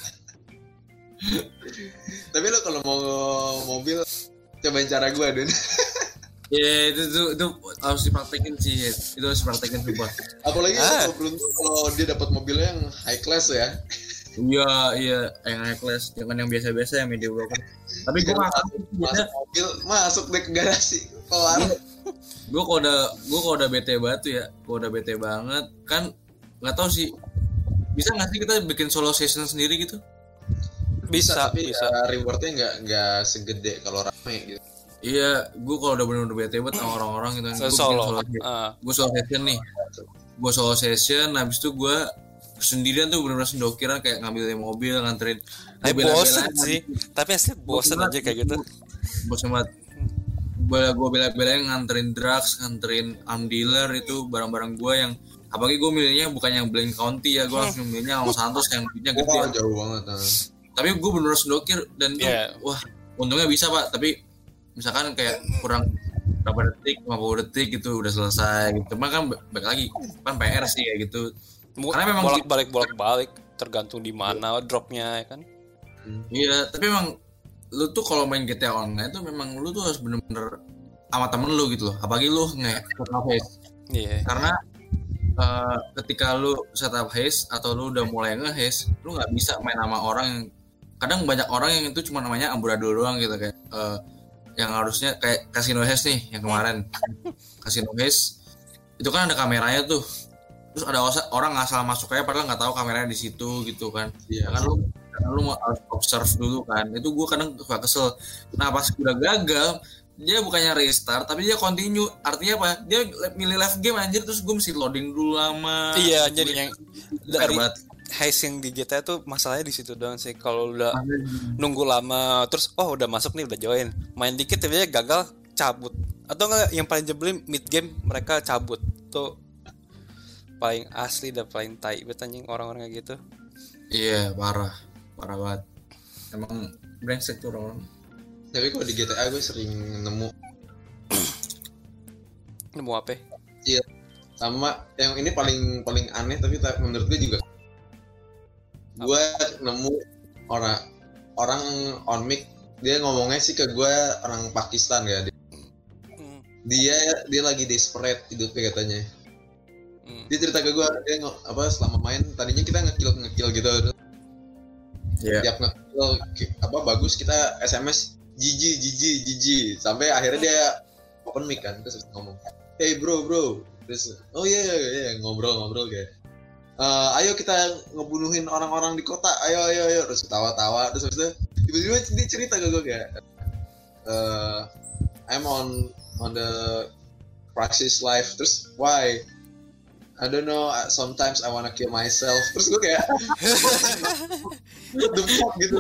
Tapi lo kalau mau mobil cobain cara gue Dun. Ya itu tuh itu harus dipraktekin sih. Itu harus dipraktekin coba. Apalagi Ah. kalau beruntung kalau dia dapat mobilnya yang high class ya. Iya, iya, yang high class, jangan yang biasa-biasa yang mediocre. Tapi gue nggak masuk, masuk mobil, masuk deh ke garasi, kelar. Gue kalau udah, gue kalau udah bete banget tuh ya, kalau udah bete banget, kan nggak tahu sih, bisa nggak sih kita bikin solo session sendiri gitu? Bisa, tapi bisa. ya, rewardnya nggak nggak segede kalau rame gitu. Iya, gue kalau udah bener-bener bete banget sama orang-orang gitu, gue bikin Solo. solo, Uh. gue solo session nih, gue solo session, habis itu gue sendirian tuh bener-bener sendokiran kayak ngambilin mobil, nganterin. Eh bosen sih, tapi asli bosen aja kayak gitu. Bosen banget. Gue bela-belain nganterin drugs, nganterin arm dealer itu barang-barang gue yang apalagi gue milihnya bukan yang Blaine County ya, gue langsung milihnya Los Santos yang duitnya gede. Oh, jauh banget. Nah. Tapi gue bener-bener sendokir dan tuh, yeah. wah untungnya bisa pak. Tapi misalkan kayak kurang berapa detik, lima puluh detik gitu udah selesai gitu. Cuma kan balik lagi kan P R sih ya gitu. Karena memang bolak-balik bolak-balik tergantung di mana dropnya ya kan. Iya, tapi memang lu tuh kalau main G T A Online tuh memang lu tuh harus bener-bener sama temen lu gitu loh. Apalagi lu nge-setup haze. Iya. Karena uh, ketika lu setup haze atau lu udah mulai nge-haze, lu nggak bisa main sama orang yang kadang banyak orang yang itu cuma namanya amburadul doang gitu kayak uh, yang harusnya kayak Casino Haze nih yang kemarin. Casino Haze itu kan ada kameranya tuh. Terus ada orang asal masuk aja padahal nggak tahu kameranya di situ gitu kan. Iya. Kan lu kan lu mau observe dulu kan. Itu gue kadang suka kesel. Nah pas udah gagal dia bukannya restart tapi dia continue. Artinya apa? Dia milih live game anjir terus gue mesti loading dulu lama. Iya jadi yang dari haze yang di G T A tuh masalahnya di situ doang sih. Kalau udah nunggu lama terus oh udah masuk nih udah join main dikit tiba-tiba gagal cabut atau enggak yang paling jebelin mid game mereka cabut tuh paling asli dan paling tai banget anjing orang-orang kayak gitu. Iya parah parah banget emang brengsek tuh orang-orang. Tapi kalau di G T A gue sering nemu nemu apa? Iya sama yang ini paling paling aneh tapi menurut gue juga apa? Gue nemu orang orang on mic dia ngomongnya sih ke gue orang Pakistan ya dia hmm. dia dia lagi desperate hidupnya katanya. Hmm. Dia cerita ke gue dia ng- apa selama main tadinya kita ngekill ngekill gitu. Yeah. Tiap ngekill apa bagus kita S M S jiji jiji jiji sampai akhirnya dia open mic kan terus ngomong hey bro bro terus oh iya yeah, iya yeah, yeah. ngobrol ngobrol kayak uh, ayo kita ngebunuhin orang-orang di kota ayo ayo ayo terus tawa-tawa terus habis itu tiba-tiba dia cerita ke gue kayak uh, I'm on on the Praxis live terus why I don't know sometimes I wanna kill myself terus gue kayak what the fuck gitu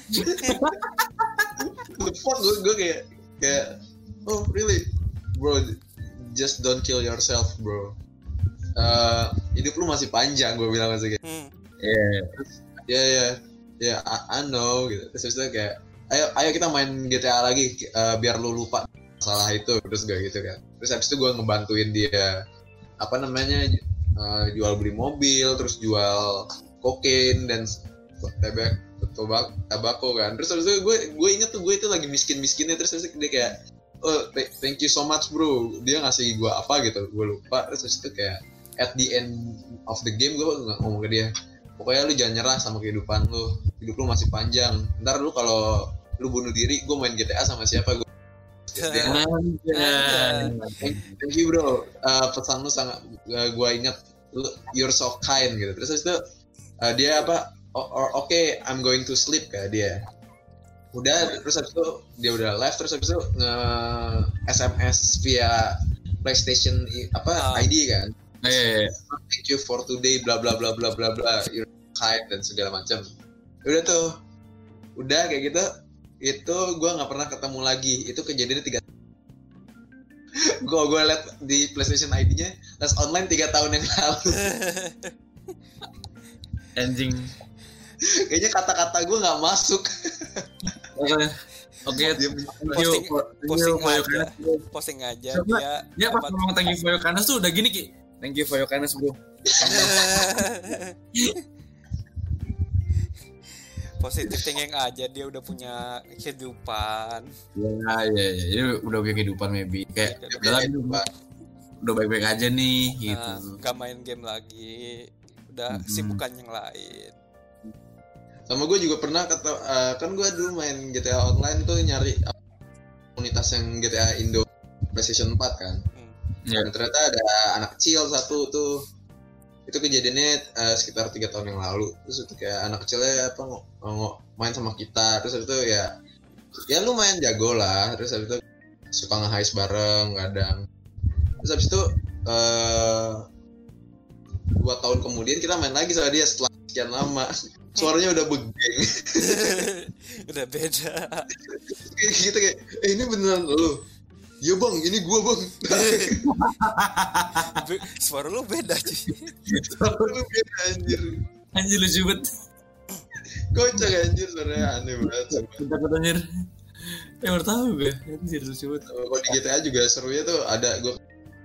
what the fuck gue gue kayak kayak oh really bro just don't kill yourself bro uh, hidup lu masih panjang gue bilang masih kayak yeah yeah yeah yeah I, I know gitu terus itu kayak ayo ayo kita main G T A lagi uh, biar lu lupa masalah itu terus gue gitu kan terus habis itu gue ngebantuin dia apa namanya uh, jual beli mobil terus jual kokain dan tabak tobak tabako kan terus habis itu gue gue inget tuh gue itu lagi miskin miskinnya terus habis itu dia kayak oh thank you so much bro dia ngasih gue apa gitu gue lupa terus habis itu kayak at the end of the game gue ngomong ke dia pokoknya lu jangan nyerah sama kehidupan lu hidup lu masih panjang ntar lu kalau lu bunuh diri gue main G T A sama siapa gue thank, thank you bro uh, pesan lu sangat uh, gue ingat lu, you're so kind gitu terus itu uh, dia apa oh, oh, oke okay, I'm going to sleep kayak dia udah terus habis itu dia udah live terus habis itu nge S M S via PlayStation apa uh. I D kan eh thank you for today bla bla bla bla bla bla you're kind dan segala macam udah tuh udah kayak gitu itu gue nggak pernah ketemu lagi itu kejadiannya tiga gue gue liat di PlayStation I D-nya les online tiga tahun yang lalu anjing kayaknya kata-kata gue nggak masuk oke oke posting posting aja posting aja dia dia pas ngomong thank you for your kindness tuh udah gini Ki thank you for your kindness bro positif thinking aja dia udah punya kehidupan ya ya ya dia udah punya kehidupan maybe kayak udah lagi udah baik-baik aja nih gitu nah, gak main game lagi udah mm-hmm. sibukan yang lain Sama gue juga pernah kata, uh, kan gue dulu main G T A Online tuh nyari komunitas yang G T A Indo PlayStation empat kan. Hmm. Dan ternyata ada anak kecil satu tuh. Itu kejadiannya uh, sekitar tiga tahun yang lalu. Terus itu kayak anak kecilnya apa ng- ng- main sama kita. Terus itu ya ya lumayan jago lah. Terus habis itu suka nge-heist bareng kadang. Terus habis itu uh, dua tahun kemudian kita main lagi sama dia setelah sekian lama. Suaranya udah begeng. Udah beda. Kayak gitu kayak, eh ini beneran lu? Iya bang, ini gua bang. Suara lu beda sih. Suara lu beda anjir. Anjir lucu banget. Kocak anjir, suaranya aneh banget. Takut anjir. Ya baru tahu gue. Anjir lucu banget. Kalau di G T A juga serunya tuh ada gua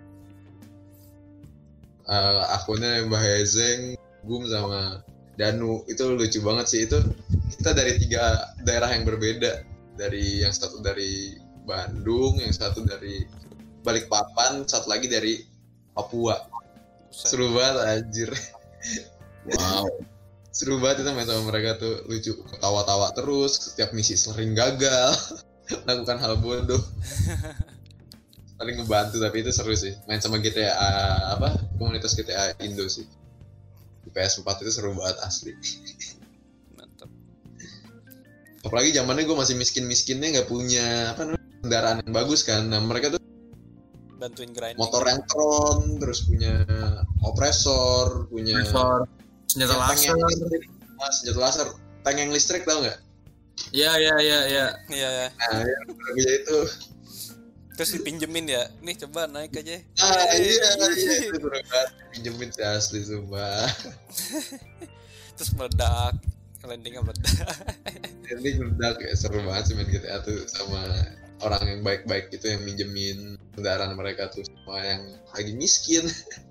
uh, akunnya Mbah Hezeng, Gum sama Danu. Itu lucu banget sih. Itu kita dari tiga daerah yang berbeda. Dari yang satu dari Bandung, yang satu dari Balikpapan, satu lagi dari Papua. Seru banget anjir. Wow. Seru banget itu main sama mereka tuh, lucu, ketawa-tawa terus, setiap misi sering gagal, lakukan hal bodoh. Paling ngebantu, tapi itu seru sih. Main sama G T A apa? Komunitas G T A Indo sih. Di P S empat itu seru banget asli. Mantap. Apalagi zamannya gue masih miskin-miskinnya, nggak punya apa namanya kendaraan yang bagus kan. Nah mereka tuh bantuin grinding. Motor yang Tron, terus punya opresor, punya Kompresor, senjata ya, laser. Mas, senjata laser, tank yang listrik tau nggak? Iya iya iya iya. Iya ya. Nah ya, ya itu. Terus dipinjemin ya, nih coba naik aja. Ah iya iya itu seru banget, pinjemin sih asli sumpah. Terus meledak, landingnya meledak. Landing meledak ya, seru banget sih main G T A tuh sama orang yang baik-baik itu yang minjemin kendaraan mereka tuh semua yang lagi miskin.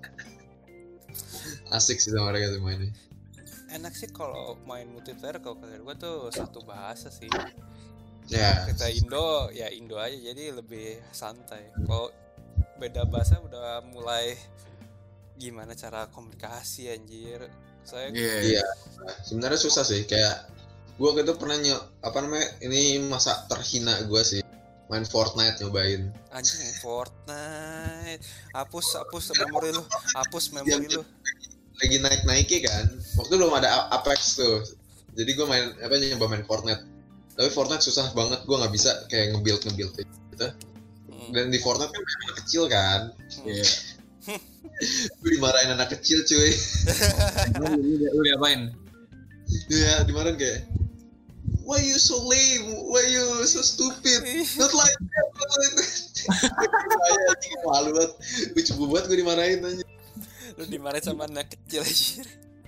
Asik sih sama mereka tuh mainnya. Enak sih kalau main multiplayer, kalau kalian gue tuh satu bahasa sih. Ya. Kita Indo, ya Indo aja, jadi lebih santai. Kalau beda bahasa udah mulai gimana cara komunikasi anjir. Saya Iya. Yeah. Sebenarnya susah sih, kayak gue gitu pernah nyok apa namanya ini masa terhina gue sih, main Fortnite nyobain. Anjing Fortnite, hapus hapus memori lu, hapus memori lu. Lagi naik-naiknya kan, waktu belum ada Apex tuh, jadi gue main apa nyoba main Fortnite. Tapi Fortnite susah banget, gue nggak bisa kayak nge-build nge-build gitu. Hmm. Dan di Fortnite kan anak kecil kan, iya. Hmm. Gue dimarahin anak kecil cuy. Lu diapain? Ya dimarahin kayak, why you so lame, why you so stupid, not like that, not like that. Saya anjing malu banget, gue coba banget gue dimarahin aja. Lu dimarahin sama anak kecil aja.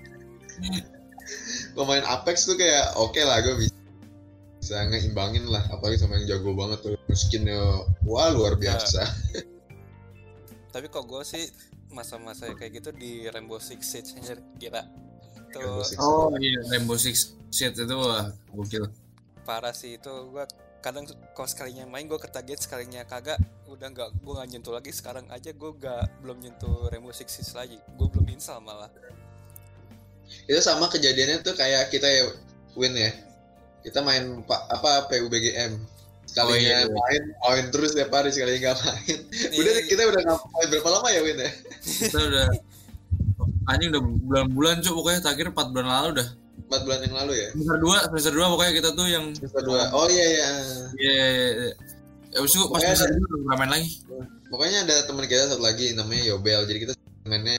Kalau main Apex tuh kayak oke okay lah, gue bisa bisa ngeimbangin lah, apalagi sama yang jago banget tuh, skinnya wah luar biasa. Ya. Tapi kok gue sih masa-masa kayak gitu di Rainbow Six Siege aja kira tuh. Oh iya, Rainbow Six Siege itu wah gokil. Parah sih itu, gue kadang kalau sekalinya main gue ketaget, sekalinya kagak udah nggak, gue nggak nyentuh lagi. Sekarang aja gue nggak belum nyentuh Rainbow Six Siege lagi, gue belum install malah. Itu sama kejadiannya tuh kayak kita ya Win ya, kita main pa, apa P U B G M sekalinya oh, iya, iya. main main terus tiap hari, sekalinya nggak main. Udah iya. Kita udah ngapain berapa lama ya Win ya? Kita udah anjing udah bulan-bulan cuk, pokoknya terakhir empat bulan lalu dah. empat bulan yang lalu ya? Semester dua, semester dua pokoknya kita tuh yang semester dua. Oh iya iya. Iya iya iya. Ya udah pas semester dua udah main lagi. Pokoknya ada teman kita satu lagi namanya Yobel. Jadi kita mainnya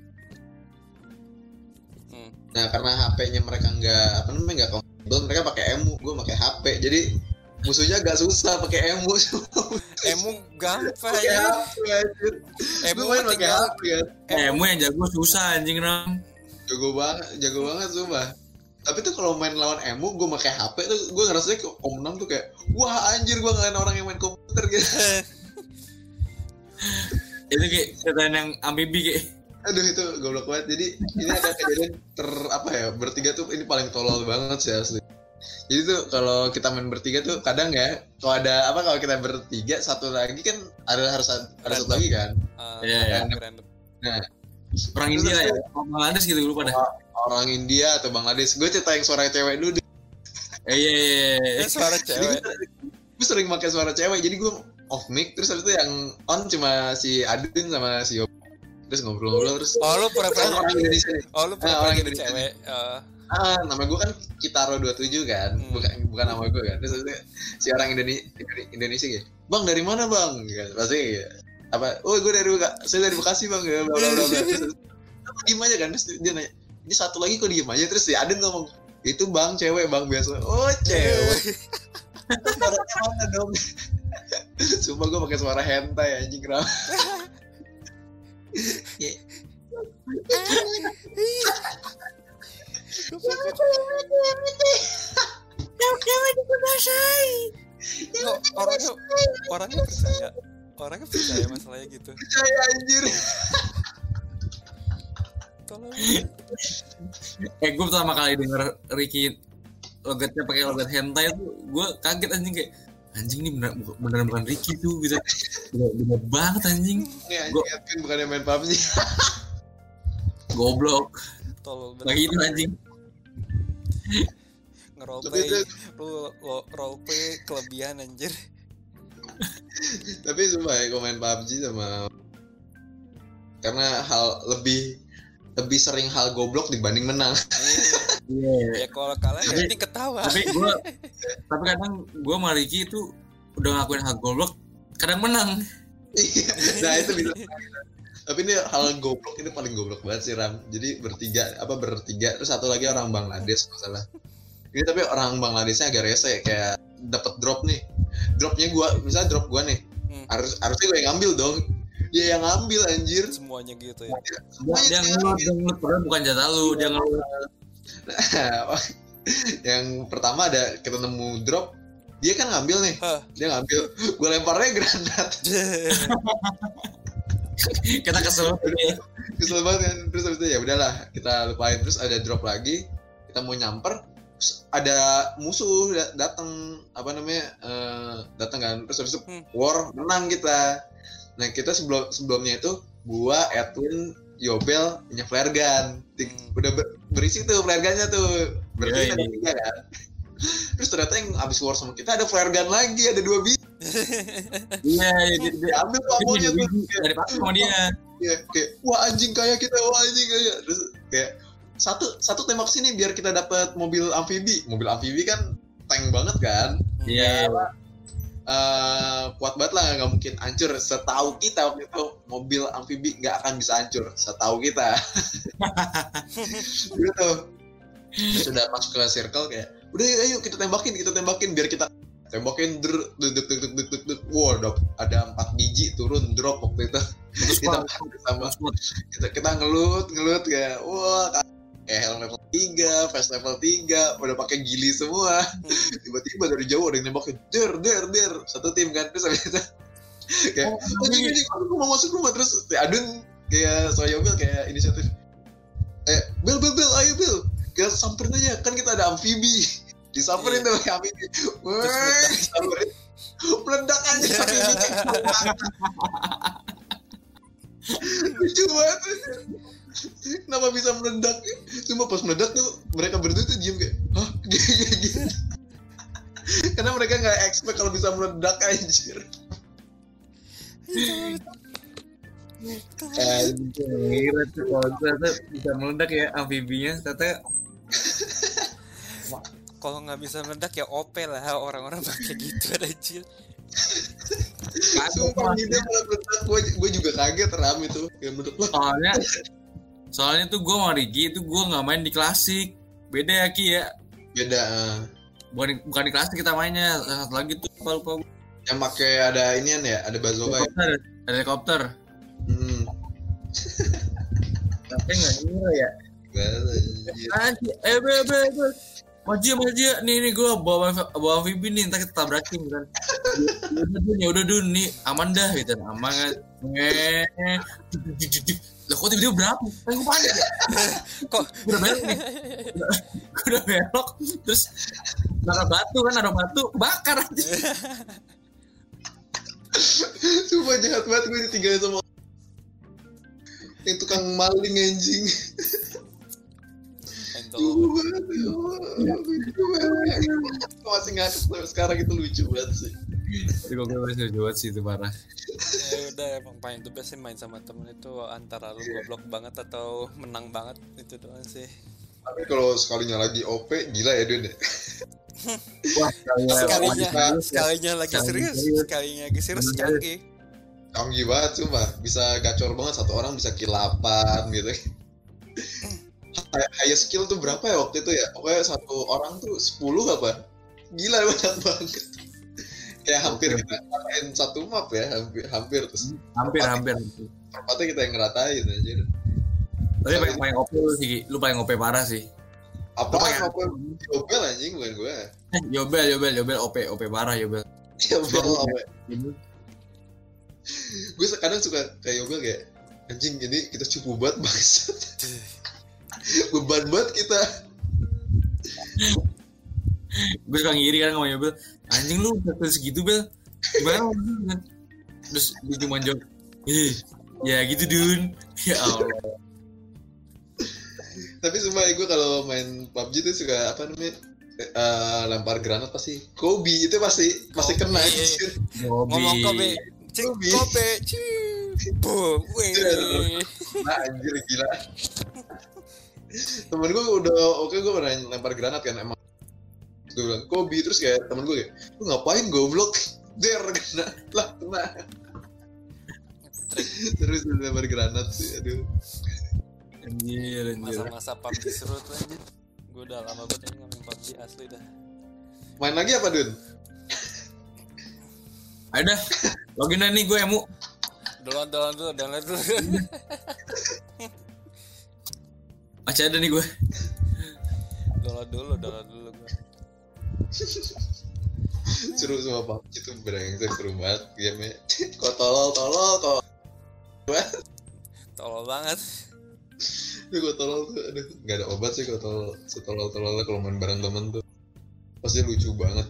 hmm. Nah, karena H P-nya mereka enggak apa namanya enggak kompatibel, mereka pakai emu, gue pakai H P. Jadi musuhnya agak susah pakai emu. Emu gampang ya. Emu main pakai H P kan. Emu yang jago susah anjing Ram. Jago banget, jago banget sumpah. Tapi tuh kalau main lawan emu, gue pakai H P tuh gue ngerasanya Om enam tuh kayak wah anjir, gue ngelain orang yang main komputer gitu. Itu kayak ketan yang ambibi kayak. Aduh itu goblok banget. Jadi ini ada kejadian ter apa ya, bertiga tuh ini paling tolol banget sih asli. Jadi tuh kalau kita main bertiga tuh kadang ya, kalau ada apa kalau kita bertiga satu lagi kan ada harus ada satu lagi kan. Iya uh, ya. Nah, orang India ya, Bangladesh gitu lupa dah. Orang India atau Bangladesh. Gue cerita yang suara cewek dulu. Eh, iya iya iya. Suara cewek. Gue sering pakai suara cewek, jadi gue off mic, terus habis itu yang on cuma si Adin sama si Yob. Terus ngobrol-ngobrol terus. Oh lu pura-pura orang Indonesia nih. Oh lu Ah, pura-pura orang jadi Indonesia. cewek. Eh, Ah, nama gue kan Kitaro dua puluh tujuh kan, Hmm. bukan bukan nama gue kan. Terus habis itu si orang Indonesia Indonesia gitu. Bang dari mana bang? Gitu. Pasti gitu. Apa? Oh gue dari Beka- saya dari Bekasi bang. Bla bla bla bla. Terus apa diem aja kan? Terus dia nanya, ini satu lagi kok diem aja? Terus si Adin ngomong, itu bang cewek bang biasa. Oh cewek. Suaranya mana dong? Sumpah gue pakai suara hentai anjing kenapa? Kok orangnya orangnya percaya. Orangnya percaya masalahnya gitu. Percaya anjir. Tolong. Eh gue pertama kali denger Ricky logatnya pakai logat hentai tuh gue kaget anjing kayak anjing ini bener beneran bukan Ricky tuh gitu. Bener, bener banget anjing. Ini anjing Gua- Edwin bukannya main P U B G. Goblok. Tolong Lagi itu anjing. ngeroleplay. Tapi itu- Lu lo- roleplay kelebihan anjir. Tapi sumpah ya gue main P U B G sama karena hal lebih lebih sering hal goblok dibanding menang. Iya. Ya kalau kalah ya Tapi- ini ketawa. Tapi gue tapi kadang gue sama Ricky itu udah ngakuin hal goblok kadang menang. Iya. Nah itu bisa. Tapi ini hal goblok ini paling goblok banget sih Ram. Jadi bertiga apa bertiga terus satu lagi orang Bangladesh masalah. Ini tapi orang Bangladeshnya agak rese kayak dapat drop nih. Dropnya gua misalnya drop gua nih. Hmm. Harus harusnya gue yang ngambil dong. Dia yang ngambil anjir. Semuanya gitu ya. Dia, Semuanya dia dia ngelut, dia ngelut padahal bukan jatah lu, dia ngelut. Yang pertama ada kita nemu drop, dia kan ngambil nih. Hah. Dia ngambil, gue lemparnya granat. Kita kesel ya. Kesel banget kan. Terus habis itu ya udahlah, kita lupain. Terus ada drop lagi, kita mau nyamper, terus ada musuh da- datang apa namanya? eh, datang kan. Terus habis itu Hmm. war menang kita. Nah, kita sebelum sebelumnya itu gua, Edwin, Yobel punya flare gun. Di- Hmm. Udah ber- berisi tuh flare gunnya tuh. Berarti Iya, ada iya. tiga kan. Terus ternyata yang abis war sama kita ada flare gun lagi, ada dua biji. Iya, iya, dia, dia, Ambil tuh dia ammonya punya tuh. biji dari pakai sama dia. Iya, kayak wah anjing kayak kita, wah anjing kayak. Terus kayak satu satu tembak sini biar kita dapat mobil amfibi. Mobil amfibi kan tank banget kan. Iya. Eh, kuat banget lah, nggak mungkin hancur. Setahu kita waktu itu mobil amfibi nggak akan bisa hancur. Setahu kita. Gitu. Terus udah masuk ke circle kayak, udah ayo, ayo kita tembakin, kita tembakin biar kita tembakin der, duk duk duk duk duk duk duk. Wow, ada, ada empat biji turun drop waktu itu. Kita sama kita kita ngelut ngelut kayak wah kayak helm level tiga, vest level tiga, udah pakai gili semua. Tiba-tiba dari jauh ada yang nembakin der der der satu tim kan. Terus habis itu kayak Oh, anjing anjing aku mau masuk rumah. Terus Adun kayak Soyobel kayak inisiatif eh Bel Bel Bel ayo Bel kita samperin aja kan kita ada amfibi. Disamperin tuh pakai amfibi. Wah, disamperin meledak aja amfibi. Lucu banget. Kenapa bisa meledak? Cuma pas meledak tuh mereka berdua tuh diem kayak hah kayak gitu. Karena mereka nggak expect kalau bisa meledak anjir. Anjir, tuh kalau ternyata bisa meledak ya amfibinya, ternyata Kalau nggak bisa meledak ya O P lah orang-orang pakai gitu anjir. Sumpah dia malah meledak, gue gue juga kaget Ram itu kayak meledak lah. soalnya soalnya tuh gue sama Ricky itu gue nggak main di klasik, beda ya Ki ya, Beda. bukan di, bukan di klasik kita mainnya, satu lagi tuh lupa lupa gua. Yang pakai ada inian ya, ada bazooka ya. Helikopter, ada helikopter, Hmm. tapi nggak ngira ya. Anjir. Anjir, eh be be be, maju maju, nih nih gue bawa bawa amfibi nih, ntar kita tabrakin kan. Ya udah dun, ya udah dun, nih aman dah gitu, aman kan. Eh, lah kok tiba-tiba berapa? Kan gue panik ya. Kok Udah belok nih, gue udah belok, terus naruh batu kan, naruh batu, bakar aja. Sumpah jahat banget gue ditinggalin sama yang tukang maling anjing. entol banget. Lucu banget. Masih ngakak sampai sekarang itu lucu banget sih. Tapi kok gue masih lucu banget sih itu parah. Ya udah emang paling the best sih main sama temen itu antara lu goblok banget atau menang banget itu doang sih. Tapi kalau sekalinya lagi O P gila ya Dun. Wah, Sekalinya Wah, sekalinya lagi serius, sekalinya lagi serius canggih. Canggih banget sumpah. Bisa gacor banget, satu orang bisa kill delapan gitu. High skill tuh berapa ya waktu itu ya? Pokoknya satu orang tuh sepuluh apa? Gila banyak banget. Kayak hampir kita ngeratain satu map ya, hampir hampir terus. hampir hampir. Perempatnya kita yang ngeratain aja. Tapi paling paling O P lu sih, lu paling O P parah sih. Apa Lu paling- apa Yobel anjing bukan gue. Eh, Yobel, Yobel, Yobel O P, O P parah Yobel. Yobel apa? Ini Gue kadang suka kayak Yobel kayak anjing ini kita cupu banget bangsat. Beban banget kita. gue suka ngiri kan sama Yobel. Anjing lu udah segitu Bel. Gimana lu? Terus dia cuma jawab, "Eh, ya gitu Dun." Ya Allah. Tapi sumpah gue kalau main P U B G tuh suka apa namanya eh, lempar granat pasti Kobe itu pasti pasti kena Kobe. anjir. Ngomong kobe, cik Kobe. kobe, cik, boom, wih. Nah, anjir gila. Temen gue udah oke gue pernah lempar granat kan emang. Gue bilang Kobe terus kayak temen gue kayak lu ngapain goblok? Der kena lah kena. Terus lempar granat sih aduh. Anjir, anjir. Masa-masa P U B G seru tuh aja. Gue udah lama banget ini ngomongin P U B G asli dah. Main lagi apa Dun? Ayo dah, login aja nih gue emu. Download, download dulu, download dulu. Masih ada nih gue. Download dulu, download dulu gue. Seru sama P U B G itu bener-bener seru banget game-nya. Kok tolol tolol tolol. Tolol banget. Tapi gue tolol tuh aduh nggak ada obat sih kalau tolol setolol tololnya kalau main bareng temen tuh pasti lucu banget.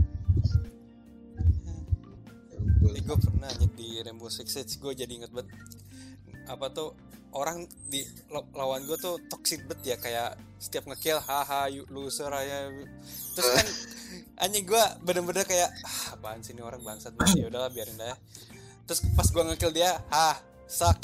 Ini gue pernah aja di Rainbow Six Siege, gue jadi inget banget apa tuh orang di lo- lawan gue tuh toxic banget ya, kayak setiap ngekill haha you loser aja. Terus kan anjing gue bener-bener kayak ah, apaan sih ini orang bangsat banget, ya udahlah biarin dah. Terus pas gue ngekill dia ah suck.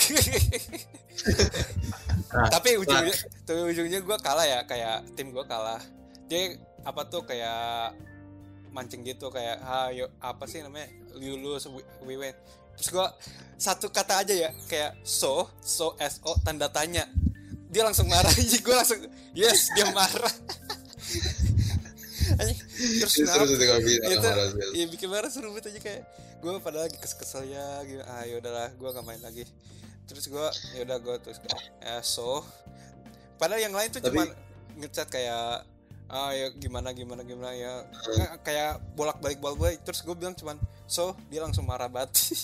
Tapi ujungnya tapi ujungnya gue kalah ya, kayak tim gue kalah. Dia apa tuh kayak mancing gitu kayak ha yo, apa sih namanya you lose we, we win. Terus gue satu kata aja ya kayak so so so tanda tanya, dia langsung marah. Jadi gue langsung yes dia marah. Anjing, terus Ini seru kenapa? sih kalau bikin Itu marah sih. ya bikin marah seru banget aja kayak gue padahal lagi kesel ya gitu. Ah yaudahlah gue gak main lagi. Terus gue yaudah gue terus kayak ya so padahal yang lain tuh Tapi- cuma ngechat kayak ah ya gimana gimana gimana ya Nggak, kayak bolak balik bolak balik. Terus gue bilang cuman so dia langsung marah banget.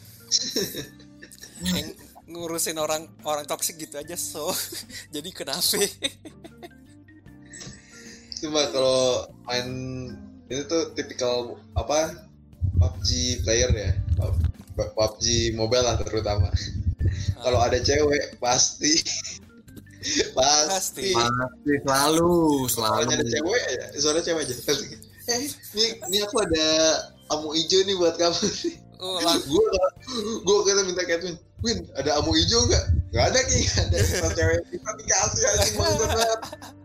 Yang ngurusin orang orang toksik gitu aja so jadi kenapa? Cuma kalau main ini tuh tipikal apa P U B G player ya, P U B G mobile lah terutama. Kalau ada cewek pasti pasti Pasti. Pasti selalu, selalu. kalau ada cewek ya suara cewek aja pasti. Eh ini ini aku ada amu hijau nih buat kamu. Oh, lang- Gue gue kita minta Catwin, Win ada amu hijau nggak? Nggak ada ki, nggak ada. Kalau cewek kita dikasih aja banget.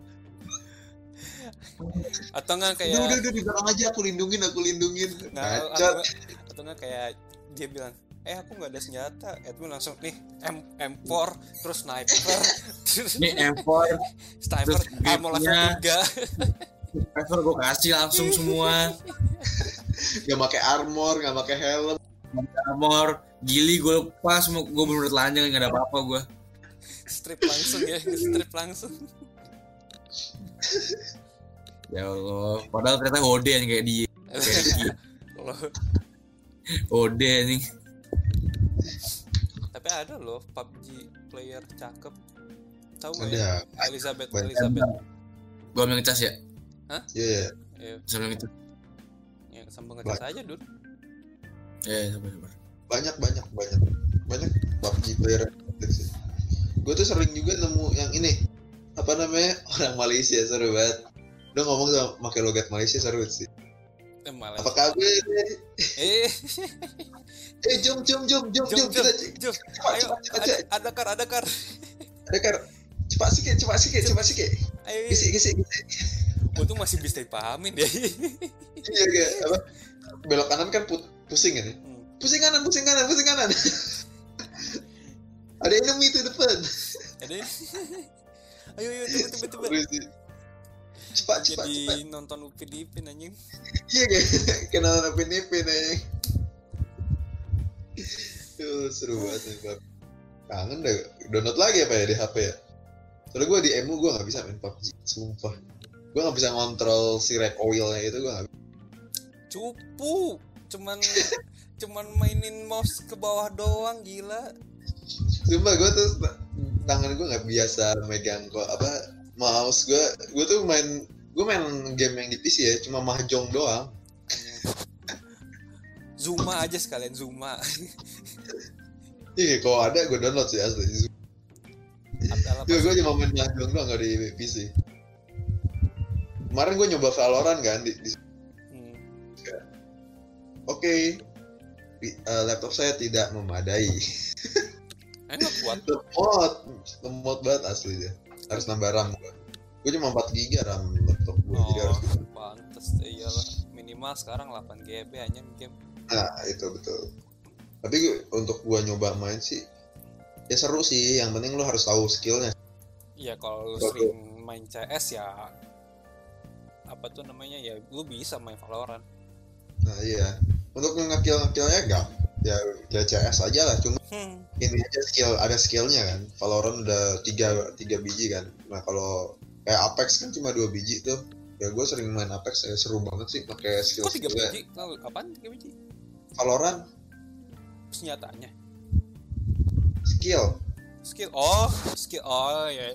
atau enggak Udah kayak udah udah di belakang aja aku lindungin aku lindungin. Nah, Ngacat. atau, atau nggak kayak dia bilang, eh aku nggak ada senjata, Edwin langsung nih M M4 terus sniper, terus Ini M empat, sniper, terus ammo level gripnya. tiga. Trevor gue kasih langsung semua. Gak pakai armor, gak pakai helm. Armor, gili gue lepas, gue bener-bener telanjang, gak ada apa-apa gue. Strip langsung ya, strip langsung. Ya Allah, padahal ternyata Hode yang kayak dia. Kayak dia. Kalau Hode nih. tapi ada loh P U B G player cakep, tahu nggak Ada. ya? Elizabeth, Banyak. Elizabeth. Gue ambil ngecas ya. Iya, yeah, Ya, Sambil ngecas. ya sambung ngecas aja dulu. Ya, sabar sabar. banyak banyak banyak banyak P U B G player sih. Gue tuh sering juga nemu yang ini apa namanya orang Malaysia seru banget. Udah ngomong sama pakai logat Malaysia seru sih. Eh, malah. Apa kabar? Eh, Eh jom jom jom jom jom, jom jom, kita jom. cepat Ayo, cepat cepat ada, cepat. ada kar, ada kar. Ada kar. Cepat sikit cepat sikit cepat sikit. Ayo, Gisik gisik gisik. untung masih bisa dipahamin deh. Iya kayak apa? Belok kanan kan put, pusing kan? Ya? Hmm. Pusing kanan pusing kanan pusing kanan. Ada enemy itu depan. Ada. Ayo, ayo, cepet, cepet, cepet. Seru sih. Cepat cepat Jadi cepat. nonton Upin Ipin anjing. Iya kayak kenal Upin Ipin aja. Tuh seru banget nih Pak. Kangen deh. Download lagi apa ya di H P ya? Soalnya gue di E M U gue nggak bisa main P U B G. Sumpah. Gue nggak bisa ngontrol si recoilnya itu gue nggak. Cupu. Cuman cuman mainin mouse ke bawah doang, gila. Sumpah gue tuh tangan gue nggak biasa megang kok apa mouse gue. Gue tuh main gue main game yang di P C ya cuma mahjong doang. Zuma aja sekalian Zuma. Iya kalau ada gue download sih asli. Adalah Gue gue cuma main mahjong doang nggak di P C. Kemarin gue nyoba Valorant kan di, di hmm. Oke, okay. uh, laptop saya tidak memadai. Enak kuat. Lemot, lemot banget asli dia. Harus nambah RAM gue. Gue cuma empat giga RAM laptop gue, Oh, jadi harus. pantes iyalah. Minimal sekarang delapan giga hanya game. Nah itu betul. Tapi gue, untuk gue nyoba main sih, ya seru sih. Yang penting lo harus tahu skillnya. Iya kalau lu Betul. sering main C S ya apa tuh namanya ya lu bisa main Valorant. Nah iya. Untuk ngekill-ngekillnya gak, ya ya C S aja lah. Cuma Hmm. ini aja skill, ada skillnya kan. Valorant udah tiga tiga biji kan. Nah kalau kayak Apex kan cuma dua biji tuh. Ya gue sering main Apex, ya seru banget sih pakai skill Kok tiga skillnya. biji? Lalu apaan tiga biji? Valorant Senjatanya. skill. Skill. Oh, skill. Oh ya.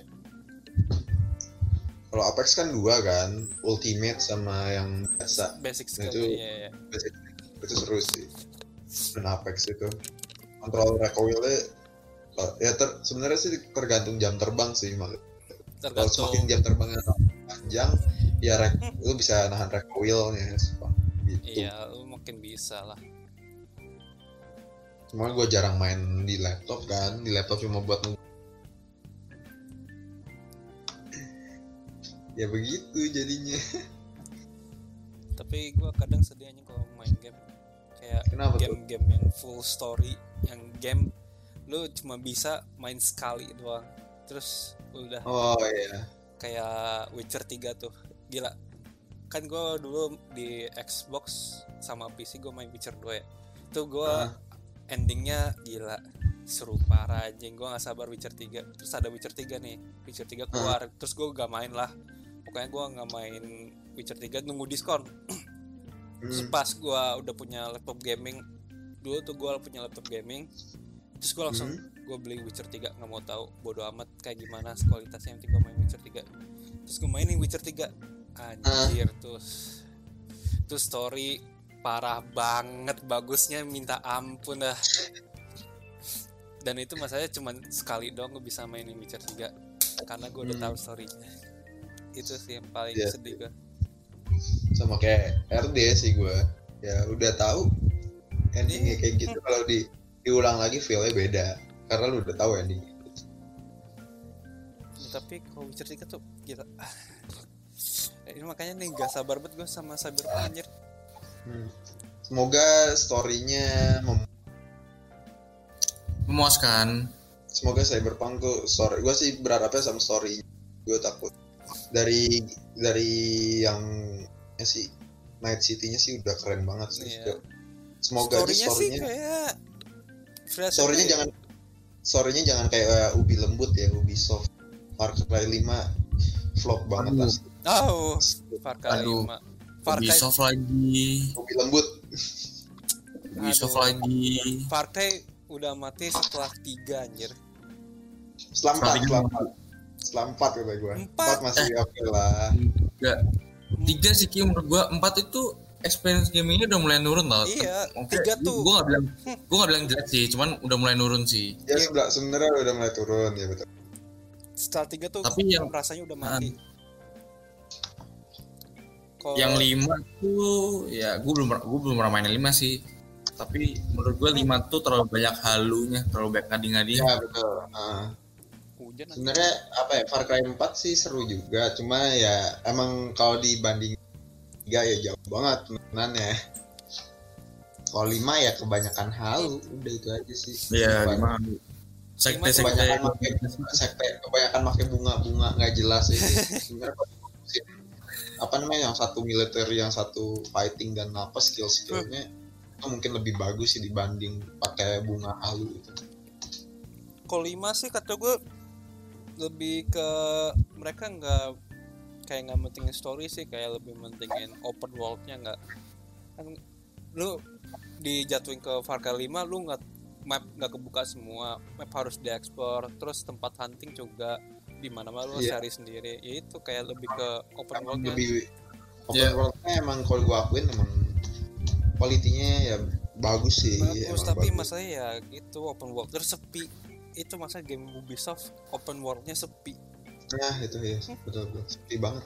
Kalau Apex kan dua kan, Ultimate sama yang biasa. Basic Nah, skill. itu Iya, iya. basic. Itu seru sih. Dan Apex itu kontrol recoilnya ya ter, sebenarnya sih tergantung jam terbang sih. Kalau Tergantung. semakin jam terbangnya panjang, ya rek, lu bisa nahan recoilnya gitu. Iya, lu mungkin bisa lah. Cuma gue jarang main di laptop kan, di laptop cuma buat nunggu. Ya begitu jadinya. Tapi gue kadang sedih aja kalau main game kayak Kenapa tuh? game-game yang full story, yang game lu cuma bisa main sekali doang terus udah. Oh iya. Kayak Witcher tiga tuh gila kan. Gue dulu di Xbox sama P C gue main Witcher dua ya, itu gue Ah. endingnya gila seru parah anjing. Gue gak sabar Witcher tiga. Terus ada Witcher tiga nih, Witcher tiga keluar, terus gue gak main lah. Pokoknya gue gak main Witcher tiga, nunggu diskon. Terus Hmm. pas gue udah punya laptop gaming, dulu tuh gue punya laptop gaming, terus gue langsung gue beli Witcher tiga, gak mau tahu bodo amat kayak gimana kualitasnya, yang penting gue main Witcher tiga. Terus gue mainin Witcher tiga, anjir terus tuh story parah banget, bagusnya minta ampun dah. Dan itu masalahnya cuma sekali doang gue bisa mainin Witcher tiga karena gue udah Hmm. tahu storynya. Itu sih yang paling Iya. sedih gue. Sama kayak R D sih gue, ya udah tahu endingnya kayak gitu. Kalau di diulang lagi feelnya beda karena lu udah tahu endingnya. Tapi kalau Witcher tiga tuh gila. Eh, ini makanya nih gak sabar banget gue sama Cyberpunk anjir. Hmm. Semoga story-nya mem- Memuaskan. semoga Cyberpunk tuh story. Gue sih berharapnya sama story. Gue takut dari dari yang ya sih Night City-nya sih udah keren banget sih. Iya. Semoga aja Story-nya sih story-nya kayak Fresh story-nya aja. jangan story-nya jangan kayak Ubi lembut ya, Ubisoft. Far Cry lima flop banget Aduh. asli. Oh, Far Cry Aduh. lima. Far Cry, Ubisoft lagi. Ubi lembut. Ubisoft Aduh. lagi. Far Cry udah mati setelah tiga anjir. Selampat, Story-nya selampat. Selampat kata gue. Empat. Empat masih oke lah. Tiga. Tiga sih Ki, menurut gua. Empat itu experience gamingnya udah mulai nurun tau. Iya, Oke, tiga tuh. Gue gak bilang, gue gak bilang jelek sih, cuman udah mulai nurun sih. Ya sebelah sebenarnya udah mulai turun ya betul. Star tiga tuh Tapi yang rasanya udah mati. Kalo... Yang lima tuh ya gue belum gue belum pernah main lima sih. Tapi menurut gue lima tuh terlalu banyak halunya, terlalu banyak ngadi-ngadi. Ya betul. Uh, sebenarnya apa ya, Far Cry empat sih seru juga, cuma ya emang kalau dibanding tiga ya jauh banget penangannya. Kalau lima ya kebanyakan halu, udah itu aja sih. Iya, lima. Sekte sekte kebanyakan pakai sekte kebanyakan pakai bunga-bunga nggak jelas ini. Sebenarnya apa namanya, yang satu militer, yang satu fighting dan apa skill-skillnya itu mungkin lebih bagus sih dibanding pakai bunga halu itu. Kalau lima sih kata gue lebih ke mereka nggak kayak nggak mentingin story sih, kayak lebih mentingin open world-nya. Nggak kan lu dijatuhin ke Far Cry lima, lu nggak map nggak kebuka semua, map harus diekspor, terus tempat hunting juga di mana-mana lu yeah. cari sendiri. Ya itu kayak lebih ke open world-nya. Lebih open yeah. world-nya emang kalau gua akuin emang kualitinya ya bagus sih. Bagus, tapi bagus. Masalahnya ya gitu, open world terus sepi. Itu masa game Ubisoft open world-nya sepi. Nah itu ya betul betul sepi banget.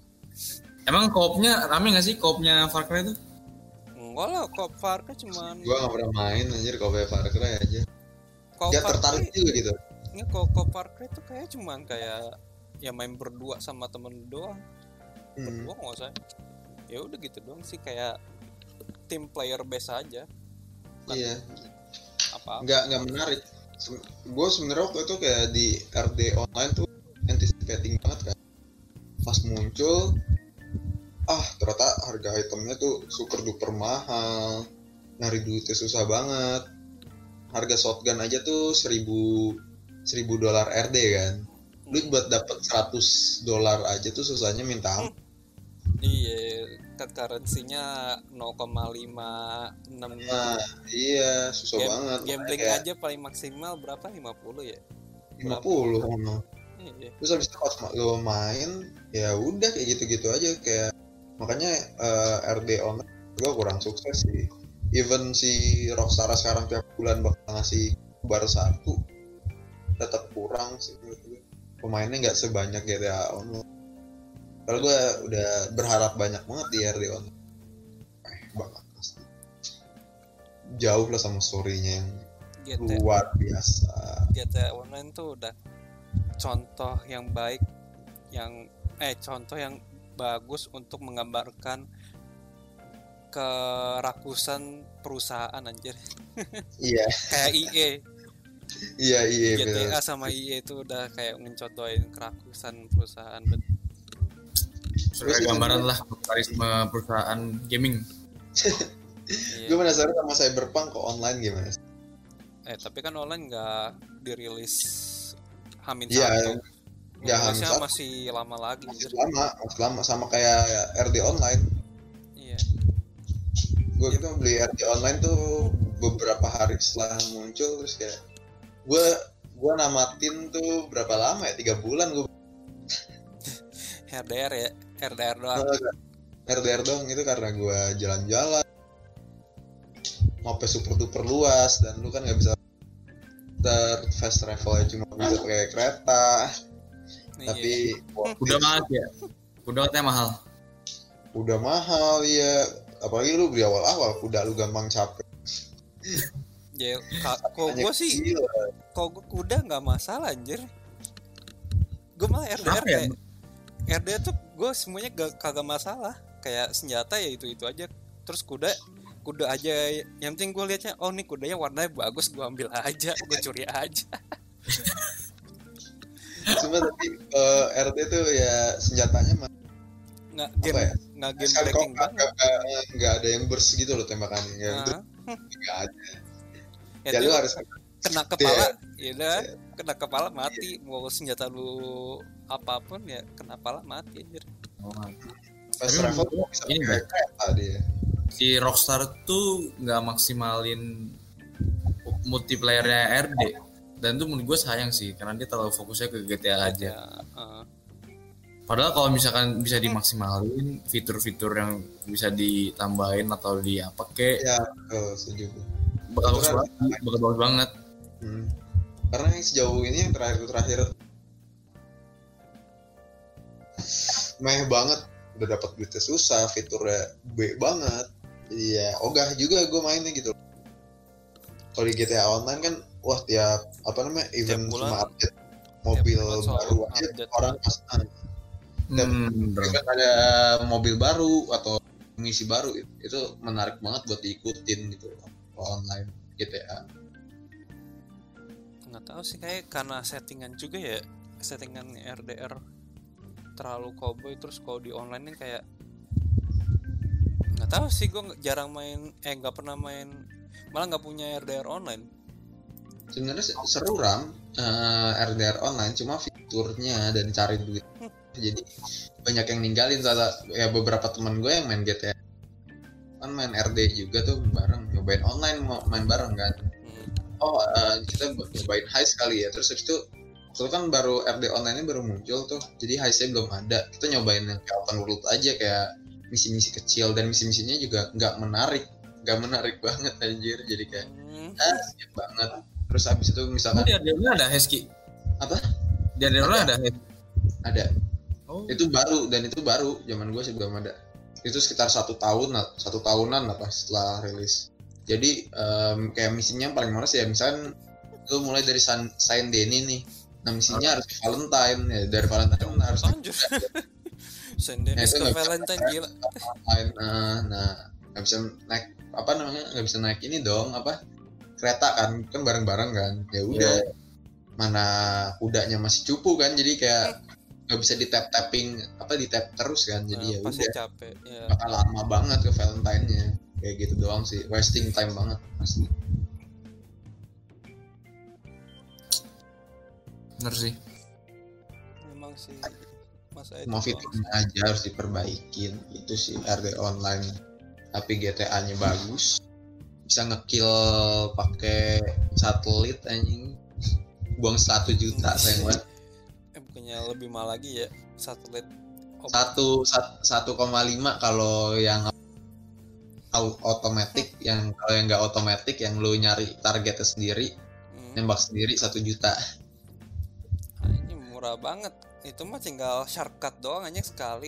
Emang co-op-nya rame nggak sih co-op-nya Far Cry itu? Enggak lah, co-op Far Cry cuman. Gua nggak pernah main anjir co-op Far Cry aja. Gak tertarik juga gitu. Ini co-op Far Cry itu kayak cuman kayak ya main berdua sama temen doang. Hmm. Berdua nggak usah. Ya udah gitu doang sih, kayak tim player base aja. Bukan iya. Apa? Nggak nggak menarik. Gue sebenarnya waktu itu kayak di R D online tuh anticipating banget kan, pas muncul ah ternyata harga itemnya tuh super duper mahal, nyari duitnya susah banget. Harga shotgun aja tuh seribu seribu dolar R D kan, lu buat dapet seratus dolar aja tuh susahnya minta ampun. Iya, kan currency-nya nol koma lima enam. Nah, iya, susah game, banget. Gambling kayak... aja paling maksimal berapa? lima puluh ya? lima puluh ono. Iya. Terus habis itu pas lo main, ya udah kayak gitu-gitu aja, kayak makanya uh, R D online gua kurang sukses sih. Even si Rockstar sekarang tiap bulan bakal ngasih bar satu, tetap kurang sih menurut gue. Pemainnya nggak sebanyak G T A Online. Kalau gue udah berharap banyak banget di R D Online, eh banget pasti. Jauh lah sama story-nya yang G T A, luar biasa. G T A Online tuh udah contoh yang baik, yang eh contoh yang bagus untuk menggambarkan kerakusan perusahaan anjir. Iya. Kayak E A. Iya iya. G T A bener. Sama E A itu udah kayak mencontohin kerakusan perusahaan. Sebagai gambaran lah kapitalisme perusahaan gaming. Iya. Gue penasaran sama Cyberpunk kok online gimana? Eh tapi kan online nggak dirilis Hamin iya, satu. Ya Hamin satu masih lama lagi. Masih lama, masih lama sama kayak R D online. Iya. Gue gitu beli R D online tuh beberapa hari setelah muncul, terus kayak gue gue namatin tuh berapa lama ya, tiga bulan gue. R D R ya, R D R doang. R D R doang itu karena gue jalan-jalan, mapnya super duper luas dan lu kan nggak bisa ter fast travel ya, cuma bisa pakai kereta. Iya. Tapi wah, udah mahal ya, udah katanya mahal. Udah mahal ya, apalagi lu beli awal-awal, kuda lu gampang capek. Ya, kok gue sih, kok gue kuda nggak masalah anjir. Gue malah R D R kayak R D R tuh gue semuanya gak, kagak masalah, kayak senjata ya itu itu aja, terus kuda kuda aja yang penting gue liatnya, oh nih kudanya warnanya bagus, gue ambil aja, gue curi aja. Cuma tapi uh, R D tuh ya senjatanya mah nggak game ya? nggak game breaking banget, nggak ada yang burst gitu loh tembakannya, yang uh. nggak ada. Ya, ya lu harus kena kepala, ya udah kena kepala mati, mau senjata lu apapun ya kena kepala mati anjir. Oh, mati. Pas travel bisa ini kereta dia. Si Rockstar tuh nggak maksimalin multiplayernya R D, dan tuh menurut gue sayang sih karena dia terlalu fokusnya ke G T A aja. Ya, uh. Padahal kalau misalkan bisa dimaksimalin fitur-fitur yang bisa ditambahin atau di apa kek, ya oh, setuju. Bakal bagus banget, bakal bagus banget. Hmm. Karena yang sejauh ini yang terakhir terakhir meh banget, udah dapat duitnya susah, fiturnya B banget, jadi ya ogah juga gue mainnya gitu. Kalau di G T A Online kan wah tiap apa namanya event bulan- cuma update mobil bulan soal baru aja update. orang pas ah, tiap Hmm, bener. event ada mobil baru atau misi baru, itu menarik banget buat diikutin gitu kalau online G T A. Nggak tahu sih, kayak karena settingan juga ya, settingan R D R terlalu cowboy, terus kalau di online kan kayak nggak tahu sih, gue jarang main eh nggak pernah main, malah nggak punya R D R online. Sebenarnya se- seru Ram, eh, R D R online, cuma fiturnya dan cari duit jadi banyak yang ninggalin. Salah ya beberapa teman gue yang main G T A kan main R D juga tuh bareng, nyobain online mau main bareng kan. Hmm. Oh eh, kita nyobain high sekali ya, terus habis itu waktu itu kan baru R D online nya baru muncul tuh, jadi high-nya belum ada. Kita nyobain yang kayak open world aja, kayak misi-misi kecil, dan misi-misinya juga nggak menarik, nggak menarik banget anjir, jadi kayak Hmm. ah skip banget. Terus habis itu misalkan Di R D R ada Hesky. apa Di R D R ada Hes. ada Oh. itu baru, dan itu baru zaman gue sih belum ada. Itu sekitar satu tahun lah, satu tahunan lah pas setelah rilis. Jadi em, kayak misinya yang paling males ya misalkan lu mulai dari San, Saint Denis nih, nah misinya harus ke Valentine ya, dari Valentine harus Anjir. Senden Nah, itu ke nggak bisa Valentine pakai gila. Valentine. Nah, nah nggak bisa naik apa namanya, nggak bisa naik ini dong apa kereta kan kan bareng-bareng kan, ya udah mana kudanya masih cupu kan, jadi kayak nggak bisa di tap tapping apa di tap terus kan, jadi ya Nah, pasti udah capek ya. bakal lama banget ke Valentine-nya, kayak gitu doang sih, wasting time banget pasti. Bener sih. Memang sih masa itu Mau doang. fiturnya aja harus diperbaikin, itu sih R D online. Tapi G T A-nya bagus, bisa ngekill pakai satelit anjing, buang satu juta sayang banget. Eh bukannya lebih mahal lagi ya satelit. Oh, Satu sat- satu koma lima kalau yang au- otomatis, yang kalau yang nggak otomatis yang lu nyari targetnya sendiri, hmm. nembak sendiri satu juta. Ah, ini murah banget. Itu mah tinggal shortcut doang aja sekali.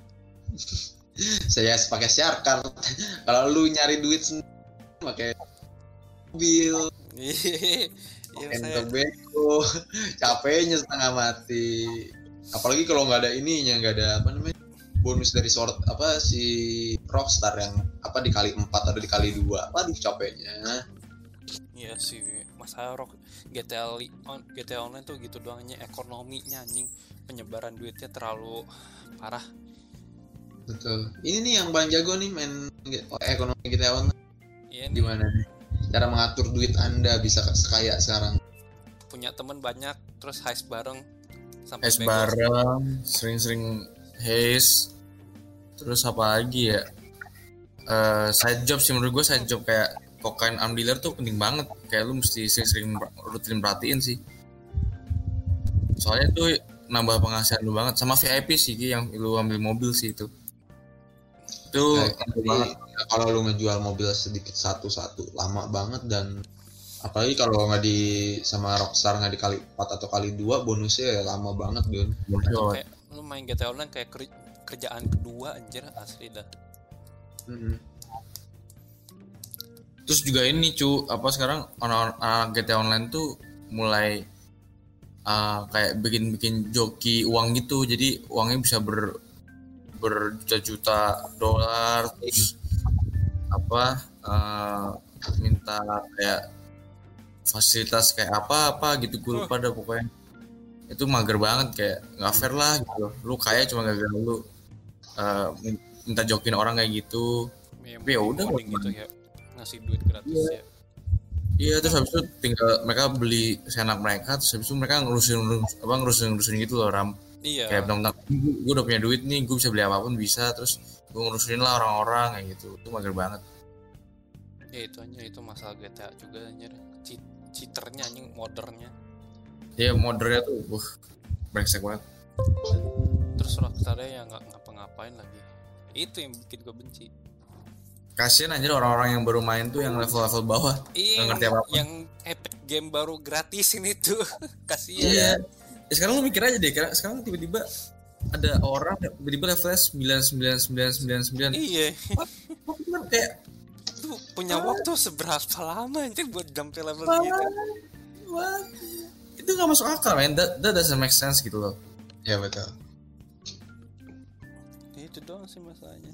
Saya pakai share card. Kalau lu nyari duit sendiri pakai mobil, Iya, saya Entobeko, capeknya setengah mati. Apalagi kalau nggak ada ininya, nggak ada apa namanya bonus dari sort apa si Rockstar yang apa dikali empat atau dikali dua. Aduh capeknya. iya sih, masa rock G T A li- on, G T A online tuh gitu doang aja, ekonominya anjing, penyebaran duitnya terlalu parah. Betul. Ini nih yang paling jago nih main oh, ekonomi G T A Online. Iya nih, Gimana nih? Cara mengatur duit Anda bisa sekaya sekarang. punya temen banyak terus heist bareng sampai Hes bego. bareng, sering-sering Hes. Terus apa lagi ya? Eh, side job sih menurut gue, side job kayak kokain arm dealer tuh penting banget. Kayak lu mesti sering-sering rutin perhatiin sih. Soalnya tuh nambah penghasilan lu banget. Sama V I P sih Ki, yang lu ambil mobil sih itu. Itu Nah, nambah jadi, banget. kalau lu ngejual mobil sedikit satu-satu lama banget, dan apalagi kalau nggak di sama Rockstar nggak dikali empat atau kali dua bonusnya ya lama banget Don. Bodoh. Kayak lu main G T A online kayak ker- kerjaan kedua anjir, asli dah. Mm-hmm. Terus juga ini cu, apa sekarang anak-anak G T A online tuh mulai uh, kayak bikin-bikin joki uang gitu, jadi uangnya bisa ber berjuta-juta dolar, terus apa uh, minta kayak fasilitas kayak apa-apa gitu, gue lupa dah pokoknya. Itu mager banget, kayak nggak fair lah gitu. Lu kaya cuma gara-gara lu uh, minta jokin orang kayak gitu. Ya, Tapi ya udah, coding gitu ya, ngasih duit gratis ya. Iya, terus habis itu tinggal mereka beli senak mereka, terus habis itu mereka ngurusin apa ngurusin ngurusin gitu loh Ram. Iya. Kayak bentar-bentar, gue udah punya duit nih, gue bisa beli apapun bisa, terus gue ngurusin lah orang-orang kayak gitu. Itu mager banget. Ya itu aja, itu masalah G T A juga anjir. Cheat, cheaternya anjing, modernnya. Ya modernnya tuh, uh, brengsek banget. Terus Rockstar ya nggak ngapa-ngapain lagi. Itu yang bikin gue benci. Kasian anjir orang-orang yang baru main tuh, yang level-level bawah. Iya, Nggak ngerti yang, apa-apa. yang epic game baru gratisin itu. Kasihan. Iya. Ya, sekarang lu mikir aja deh, sekarang tiba-tiba ada orang tiba-tiba levelnya sembilan sembilan sembilan sembilan sembilan. Iya. Itu kan kayak Lu punya waktu seberapa lama anjir buat sampai level Wah, gitu? wah. Itu nggak masuk akal, man. That, that doesn't make sense gitu loh. Ya betul. Itu doang sih masalahnya.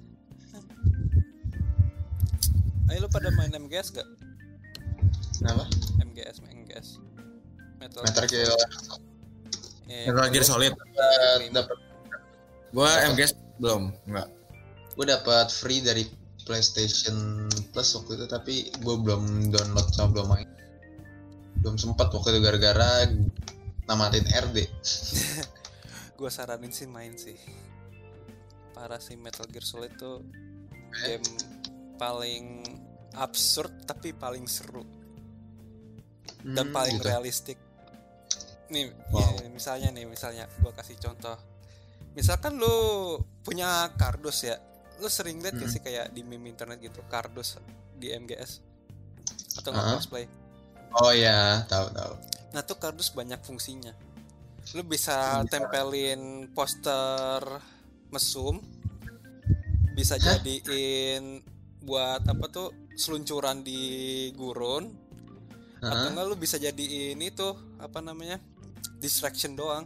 Ayo lu pada main M G S gak? Kenapa? M G S, M G S. Metal, Metal Gear Eh, Metal Gear Solid. dapat Gua M G S belum, enggak. gue dapat free dari PlayStation Plus waktu itu, tapi gue belum download sama belum main. Belum sempat waktu itu gara-gara namatin R D. Gue saranin sih main sih. Parah sih, Metal Gear Solid tuh game paling absurd tapi paling seru dan Hmm, paling gitu. realistik. Nih, Wow. ya, misalnya nih, misalnya gue kasih contoh. Misalkan lu punya kardus ya, lu sering lihat gak Hmm. sih kayak di meme internet gitu, kardus di M G S atau nggak Uh-huh. cosplay? Oh ya, tahu tahu. Nah tuh kardus banyak fungsinya. Lu bisa Bisa. tempelin poster mesum, bisa Hah? jadiin buat apa tuh seluncuran di gurun, atau Heeh. enggak lu bisa jadiin itu apa namanya distraction doang.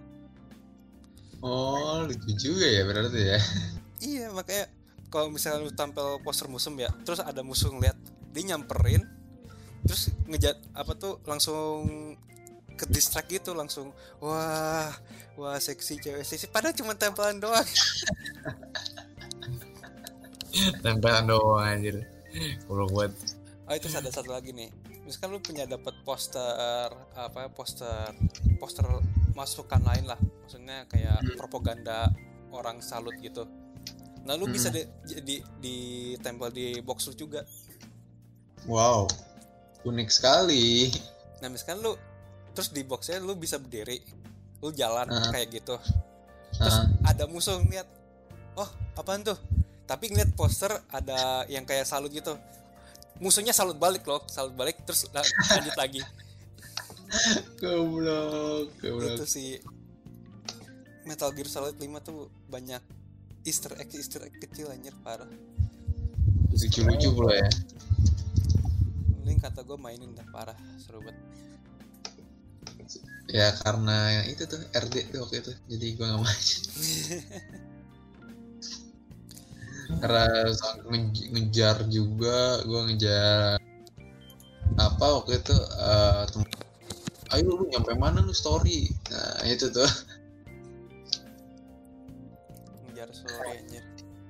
Oh, lucu juga ya berarti ya. Iya, makanya kalau misalnya lu tampil poster musuh ya, terus ada musuh ngeliat, dia nyamperin, terus ngejat apa tuh langsung ke distract gitu, langsung wah wah seksi cewek seksi, padahal cuma tempelan doang. Tempelan doang anjir. Goblok banget. Oh itu ada satu lagi nih, misalkan lu punya dapat poster apa poster poster masukan lain lah, maksudnya kayak propaganda orang salut gitu. Nah lu bisa di, di, ditempel di box lu juga. Wow, unik sekali. Nah misalkan lu terus di boxnya lu bisa berdiri, lu jalan Uh-huh. kayak gitu, terus Uh-huh. ada musuh ngeliat, oh apaan tuh, tapi ngeliat poster ada yang kayak salut gitu, musuhnya salut balik loh, salut balik terus la- lanjut lagi. Goblok, goblok. Itu sih Metal Gear Solid lima tuh banyak Easter egg Easter egg kecil anjir parah. Lucu-lucu pula ya. Link kata gue mainin dah parah, seru banget. Ya karena itu tuh R D tuh waktu itu, jadi gue nggak main. Karena nge- ngejar juga, gue ngejar apa waktu itu eh, tem- ayo lu nyampe mana lu story, nah itu tuh. Ngejar story anjir.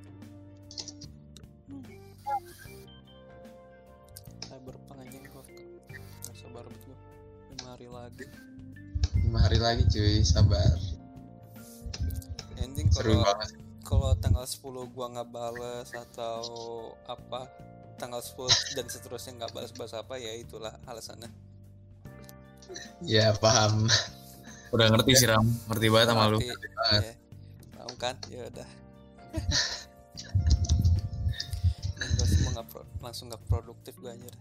Cyberpunk anjing gue gak sabar banget gue lima hari lagi. Lima hari lagi cuy, sabar. Ending Seru kalau banget. kalau tanggal sepuluh gua nggak bales atau apa, tanggal sepuluh dan seterusnya nggak balas-balas apa, ya itulah alasannya. Ya paham. Udah ngerti sih Ram, ngerti banget sama lu. Berarti, banget. ya, tahu kan, ya udah. Gue semua nggak pro- langsung nggak produktif gue anjir.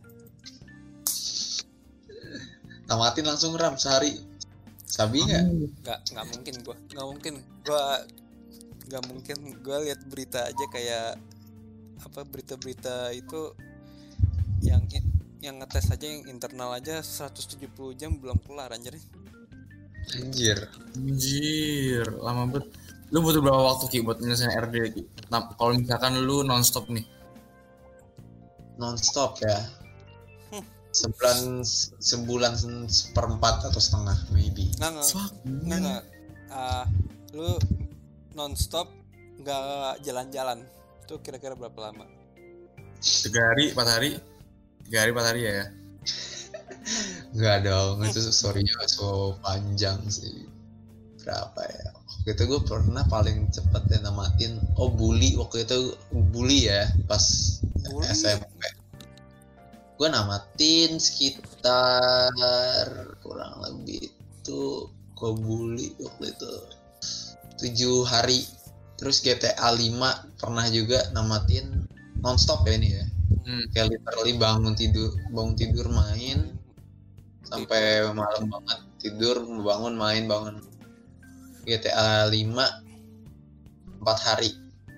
Tamatin langsung Ram sehari. Sabi nggak? Nggak nggak mungkin gue, nggak mungkin gue, nggak mungkin gue lihat berita aja kayak apa, berita-berita itu yang yang ngetes aja yang internal aja seratus tujuh puluh jam belum kelar anjir. Anjir. Anjir, lama banget. Lu butuh berapa waktu Ki buat nyelesain R D Ki? Nah, kalau misalkan lu nonstop nih. Non-stop ya. Hmm. Sebulan sebulan seperempat atau setengah maybe. Nggak nggak Fuck. nggak nggak. Ah, lu nonstop nggak jalan-jalan itu kira-kira berapa lama? Tiga hari, empat hari. Tiga hari, empat hari ya. Enggak dong, itu story-nya gak so panjang sih. Berapa ya? Waktu itu gue pernah paling cepet ya namatin. Oh bully, waktu itu bully ya, pas Bully? S M P. Gue namatin sekitar kurang lebih itu gue bully waktu itu tujuh hari. Terus G T A lima pernah juga namatin nonstop ya ini ya. Hmm. Kayak literally bangun tidur, bangun tidur main sampai malam banget, tidur bangun main bangun. G T A lima empat hari.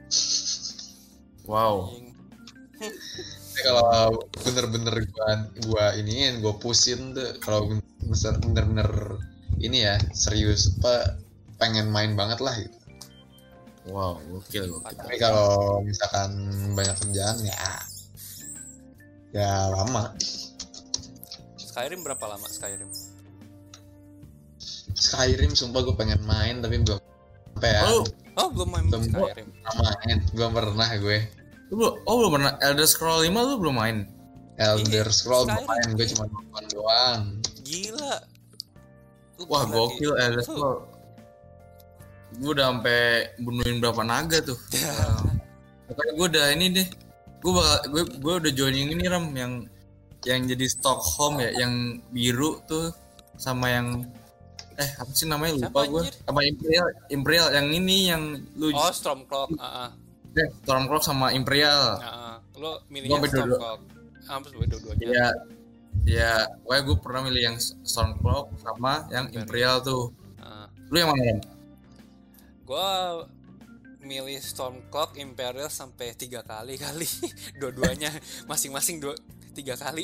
Wow. Anjing. Tapi kalau bener-bener gua gua iniin, gua pusin tuh kalau bener-bener ini ya serius apa pengen main banget lah gitu. Wow, gokil gokil. Tapi kalau misalkan banyak kerjaan ya ya lama. Skyrim berapa lama Skyrim? Skyrim sumpah gue pengen main tapi belum sampai ya. Oh, Oh belum main Belum. Skyrim. Belum main, belum pernah gue. lu belum, oh belum pernah Elder Scrolls lima lu belum main? Elder Iya, Scrolls belum Skyrim. main, gue cuma nonton doang. Gila. Lu Wah, berarti- gokil Elder Lu- Scrolls. Gue udah sampai bunuhin berapa naga tuh. Pokoknya gue udah ini deh. Gue bakal gue gue udah joining ini Ram yang yang jadi Stockholm ya, yang biru tuh sama yang eh apa sih namanya lupa Siapa, gue. anjir? Sama Imperial Imperial yang ini yang lu Oh Stormcloak. Heeh. eh, Stormcloak sama Imperial. Heeh. Lu Gua milihnya ambil dua-dua. Stormcloak. Hampir dua-duanya. Ya, ya, pokoknya gue pernah milih yang Stormcloak sama yang Imperial tuh. Heeh. Lu yang mana? Ram? Gua milih Stormcloak Imperial sampai tiga kali kali. Dua-duanya masing-masing dua tiga kali.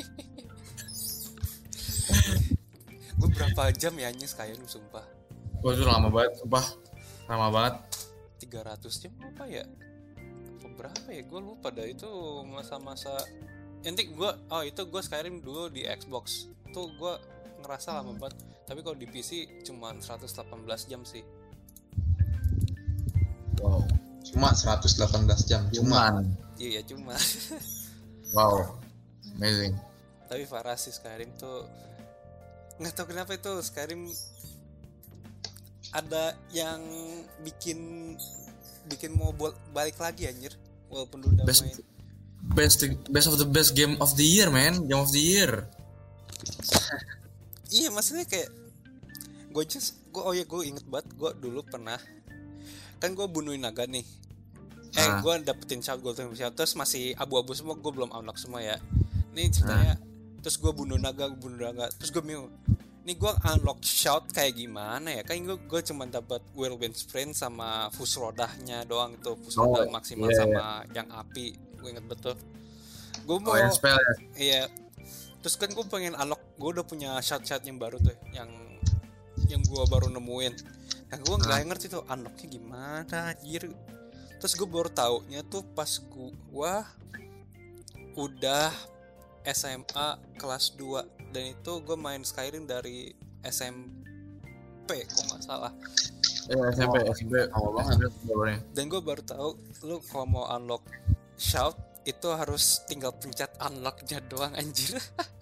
Gue berapa jam ya anjing Skyrim sumpah. Gue tuh lama banget, sumpah. Lama banget. tiga ratus jam apa ya? Apa berapa ya? Gue lupa dah itu masa-masa. Nanti gue, oh itu gue Skyrim dulu di Xbox. Tuh gue ngerasa lama banget. Tapi kalau di P C cuma seratus delapan belas jam sih. Wow. Cuma seratus delapan belas jam, cuma. Cuman. Iya cuma. Wow. Amazing. Tapi parah sih Skyrim tuh. Nggak tahu kenapa itu Skyrim ada yang bikin bikin mau buat balik lagi anjir. Walaupun lu udah Best, main. best, best of the best game of the year, man. Game of the year. Iya maksudnya kayak gue just gue oh ya gue inget banget gue dulu pernah kan gue bunuhin naga nih eh Ah. gue dapetin shout golden shout terus masih abu-abu semua gue belum unlock semua ya nih ceritanya terus gue bunuh naga gue bunuh naga terus gue bingung nih gue unlock shout kayak gimana ya kan gue gue cuma dapat whirlwind sprint sama fus rodahnya doang itu fus Oh, rodah maksimal iya, sama yang api gue inget betul gue mau Oh, yang spell ya. iya terus kan gue pengen unlock gue udah punya shot-shot yang baru tuh yang yang gue baru nemuin nah gue nggak Ah. ngerti tuh unlocknya gimana anjir terus gue baru taunya tuh pas gue udah S M A kelas dua dan itu gue main Skyrim dari S M P kok nggak salah Ya, S M P, S M P. Lama banget. banget. dan gue baru tahu lu kalau mau unlock shout itu harus tinggal pencet unlocknya doang anjir.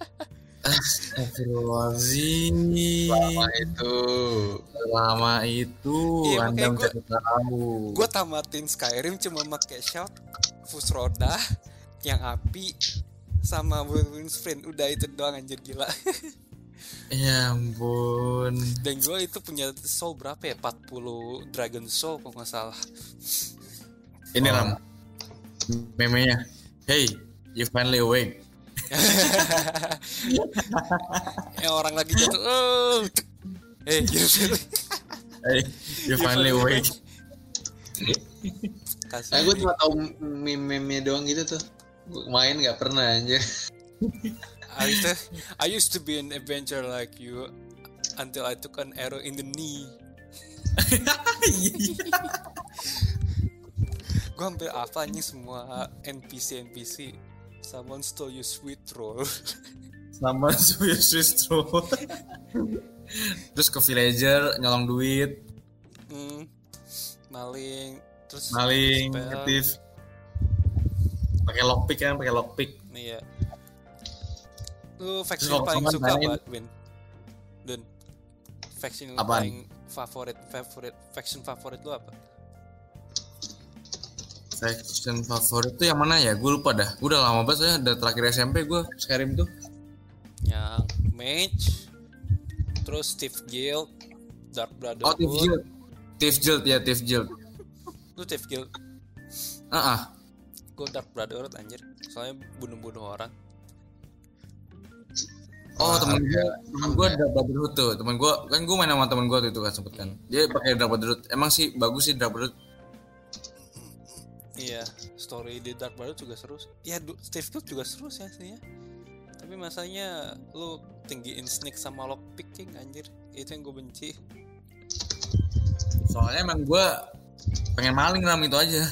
Astagfirullahaladzim. Lama itu. Lama itu Iya, Anda makanya gua- mencari tahu. Gue tamatin Skyrim cuma pakai shout, fus roda, yang api, sama whirlwind sprint. Udah itu doang anjir gila. Ya ampun. Dan gue itu punya soul berapa ya? empat puluh dragon soul kalau nggak salah. Ini Oh. Ram. Memenya. Hey, you finally awake. Yang orang lagi jatuh. Oh. Eh, gitu. Hey, you finally awake. Kasih. Nah, gue cuma tau meme-meme doang gitu tuh. Gue main nggak pernah aja. I used to, I used to be an adventurer like you until I took an arrow in the knee. Gue hampir apa nih semua N P C N P C. Someone stole your sweet roll. Sama Swiss Swiss Roll. Terus ke villager nyolong duit, hmm, maling, terus maling, spell. aktif. Pakai lockpick kan, pakai lockpick. Iya. Lu faction Terus kalau paling teman suka main- apa, Win? Dun. Faction Apaan? paling favorit, favorit, faction favorit lu apa? Faction favorit tuh yang mana ya? Gue lupa dah. Gue udah lama banget soalnya udah terakhir S M P gue Skyrim tuh. Yang Mage, terus Thief Guild, Dark Oh, Brotherhood. Thief Guild. Thief Guild ya, Thief Guild. Lu Thief Guild, Ah, ah. gue Dark Brotherhood anjir. Soalnya bunuh-bunuh orang. Oh, Ah, temen gue, ada. temen gue ada Brotherhood tuh. Temen gue kan gue main sama temen gue tuh itu kan sempet kan. Dia pakai Dark Brotherhood. Emang sih bagus sih Dark Brotherhood. Iya, story di Dark Brotherhood juga seru. Ya, du- Steve Wood juga seru sih aslinya. Tapi masanya lu tinggiin sneak sama lockpicking anjir. Itu yang gue benci. Soalnya emang gue pengen maling ram itu aja.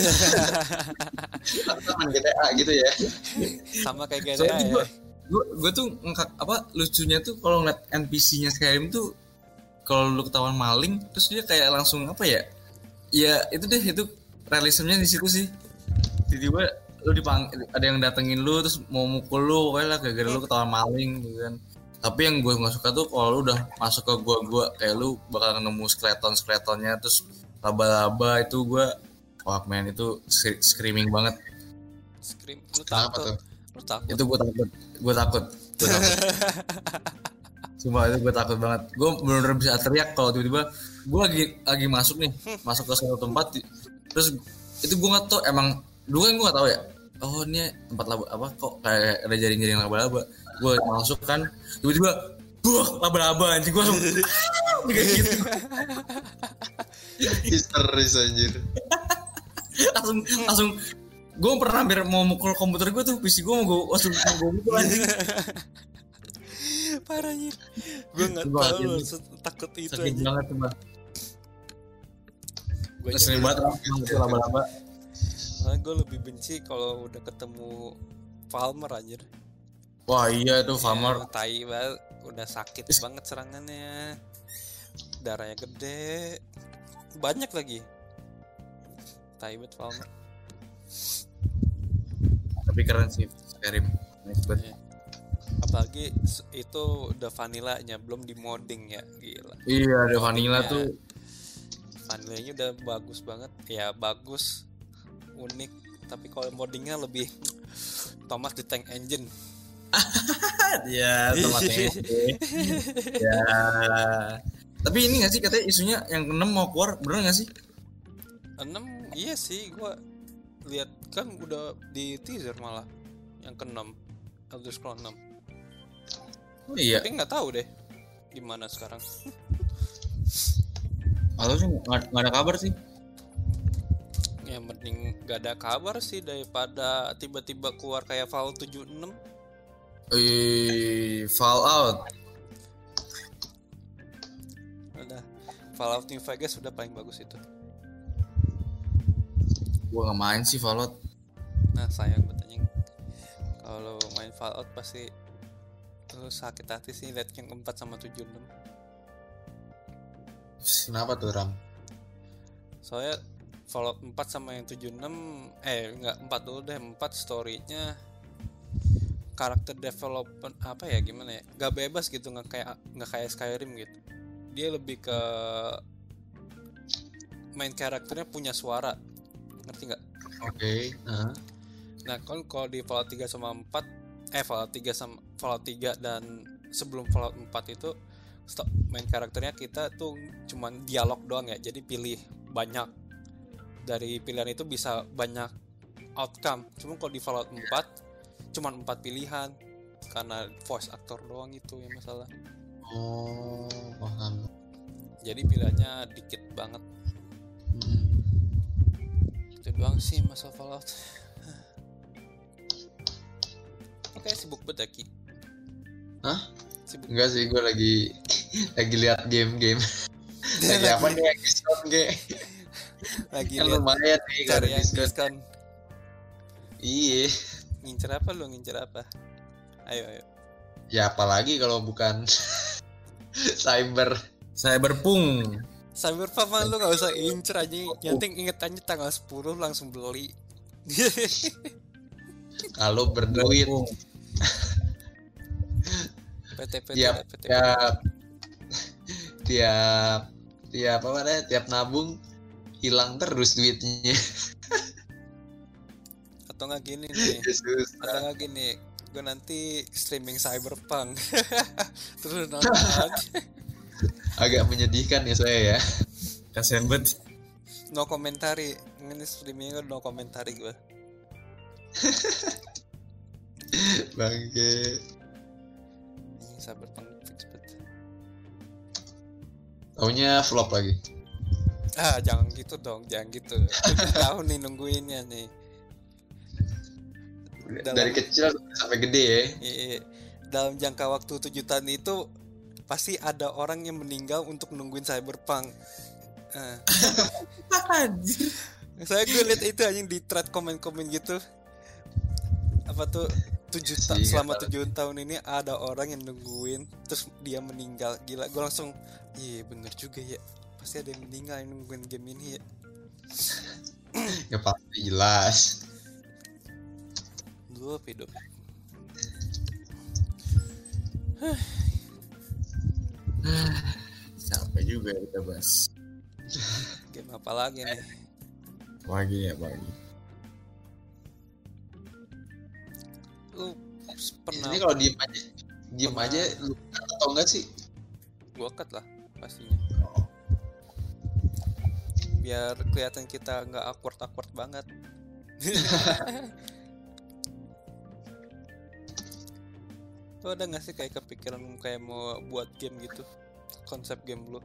Teman G T A gitu ya. Sama kayak G T A Soalnya ya. gue gue gue tuh ngekak apa lucunya tuh kalau ngeliat N P C-nya Skyrim tuh kalau lu ketahuan maling terus dia kayak langsung apa ya? Ya itu deh itu realismenya di situ sih. Tiba-tiba lu dipang ada yang datengin lu terus mau mukul lu pokoknya lah gara-gara lu ketahuan maling gitu kan. Tapi yang gue nggak suka tuh kalau lu udah masuk ke gua-gua kayak lu bakal nemu skeleton-skeletonnya terus laba-laba itu gue wah man itu screaming banget. Scream. Lu Kenapa takut. tuh? Lu takut. Itu gue takut gue takut gue takut sumpah itu gue takut banget gue benar-benar bisa teriak kalau tiba-tiba gue lagi lagi masuk nih masuk ke suatu tempat terus itu gue nggak tahu emang dulu kan gue nggak tahu ya oh ini tempat laba apa kok kayak ada jaring-jaring laba-laba gue masuk kan tiba-tiba buah laba-laba anjing gue langsung kayak gitu Histeris anjir. langsung langsung gue pernah hampir mau mukul komputer gue tuh P C gue mau gue langsung mau gue mukul anjing Parahnya. Gue nggak Wah, tahu ini loh se- takut itu sakit aja. banget tuh bang Gue sering banget orang mukul laba-laba gue lebih benci kalau udah ketemu Falmer anjir. wah iya tuh Farmer Ya, tai banget, udah sakit banget serangannya. Darahnya gede. Banyak lagi. Tai banget Falmer. tapi keren sih Skyrim nice banget. Iya. Apalagi s- itu udah vanillanya, belum di modding ya, gila. Iya ada vanilla Moddingnya- tuh Vanillanya udah bagus banget, ya bagus, unik. Tapi kalau moddingnya lebih Thomas the Tank Engine. ya tomatnya ya tapi ini nggak sih katanya isunya yang keenam mau keluar bener nggak sih enam iya sih, gua lihat kan udah di teaser malah yang keenam Elder Scrolls enam. oh iya Tapi nggak tahu deh gimana sekarang. kalau sih nggak nggak ada kabar sih Ya mending gak ada kabar sih daripada tiba-tiba keluar kayak Fallout tujuh puluh enam. eh Fallout Udah Fallout New Vegas sudah paling bagus itu. gua nggak main sih Fallout Nah sayang betanya kalau main Fallout pasti lu sakit hati sih lihat yang empat sama tujuh puluh enam. Kenapa tuh Ram? Soalnya Fallout empat sama yang tujuh puluh enam eh enggak empat dulu deh, empat story-nya karakter development apa ya gimana ya? Gak bebas gitu, nggak kayak nggak kayak Skyrim gitu. Dia lebih ke main karakternya punya suara. Ngerti nggak? Oke. Okay. Uh-huh. Nah, kan kalau di Fallout tiga sama empat eh Fallout tiga sama Fallout tiga dan sebelum Fallout empat itu stop, main karakternya kita tuh cuman dialog doang ya. Jadi pilih banyak. Dari pilihan itu bisa banyak outcome. Cuma kalau di Fallout empat cuman empat pilihan karena voice actor doang itu yang masalah. Oh, paham. Jadi pilihannya dikit banget. Hmm. Itu doang sih masalah Fallout. Oke, sibuk banget ya, Ki. Hah? Sibuk. Enggak sih, gue lagi lagi lihat game-game. lagi apa nih yang diskon kayak? Lagi Kan lihat lumayan nih kalau cari yang diskon. diskon. Iya. Ngincer apa lu, ngincer apa? Ayo, ayo. Ya apalagi kalau bukan cyber. Cyberpunk Cyberpunk mah lu gak usah incer aja. Yang penting inget aja tanggal sepuluh langsung beli. Kalau berduit P T P T tiap P T P T. tiap tiap tiap apa namanya tiap nabung hilang terus duitnya. Atau nggak gini nih, Yesus. atau nggak gini, gue nanti streaming Cyberpunk terus nonton. Agak menyedihkan ya saya ya. kasian banget No komentari, ini streamingnya no komentari gue. Bangke. Ini Cyberpunk fix banget. Taunya flop lagi. Ah, jangan gitu dong, jangan gitu. tujuh tahun nih nungguinnya nih. Dalam, Dari kecil sampai gede ya. iya, dalam jangka waktu tujuh tahun itu pasti ada orang yang meninggal untuk nungguin Cyberpunk. Ah. Anjir. Saya gue liat itu aja di thread komen-komen gitu. Apa tuh tujuh ta- Sih, selama nggak tahu. tujuh tahun ini ada orang yang nungguin terus dia meninggal. Gila, gue langsung iya bener juga ya. Pasti ada yang meninggal yang nungguin game ini ya. Ya pasti jelas. Dua hidup. Sampai juga kita bahas. Game apa lagi nih? Lagi ya lagi. Lu pernah Ini kalau diem aja, diem Pernah. aja lu cut atau enggak sih? gua cut lah pastinya. Biar kelihatan kita nggak awkward-awkward banget. Lu ada nggak sih kayak kepikiran kayak mau buat game gitu? Konsep game lu?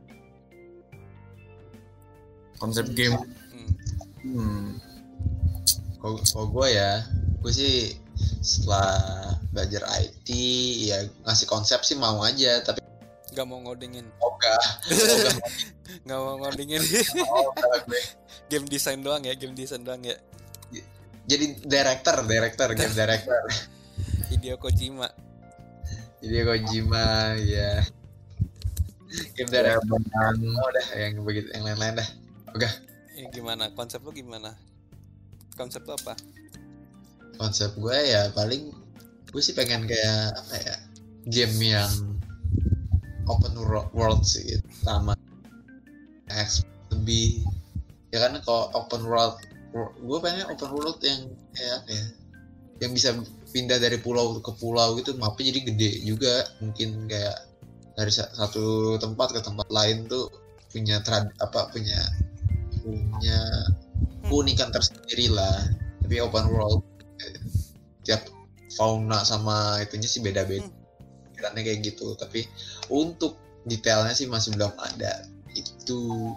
Konsep game. Hmm. Hmm. Kalau kalau gue ya, gue sih setelah belajar I T ya ngasih konsep sih mau aja, tapi Gak mau ngodingin. ogah, ogah Gak mau ngodingin. ogah gue. Game design doang ya, game design doang ya. Jadi director, director, game director. Hideo Kojima. Jadi Kojima ya. Game director. Oh, udah yang begitu, yang lain-lain dah. Ogah. Ya, gimana? Konsep lu gimana? Konsep lu apa? Konsep gue ya paling gue sih pengen kayak apa ya, game yang open wor- world sih, sama X lebih ya kan. Kalau open world, wor- gue pengen open world yang kayak apa ya, yang bisa pindah dari pulau ke pulau gitu, mapnya jadi gede juga, mungkin kayak dari sa- satu tempat ke tempat lain tuh punya trad apa punya punya keunikan tersendiri lah, tapi open world, tiap fauna sama itunya sih beda-beda, pikirannya kayak gitu. Tapi untuk detailnya sih masih belum ada itu.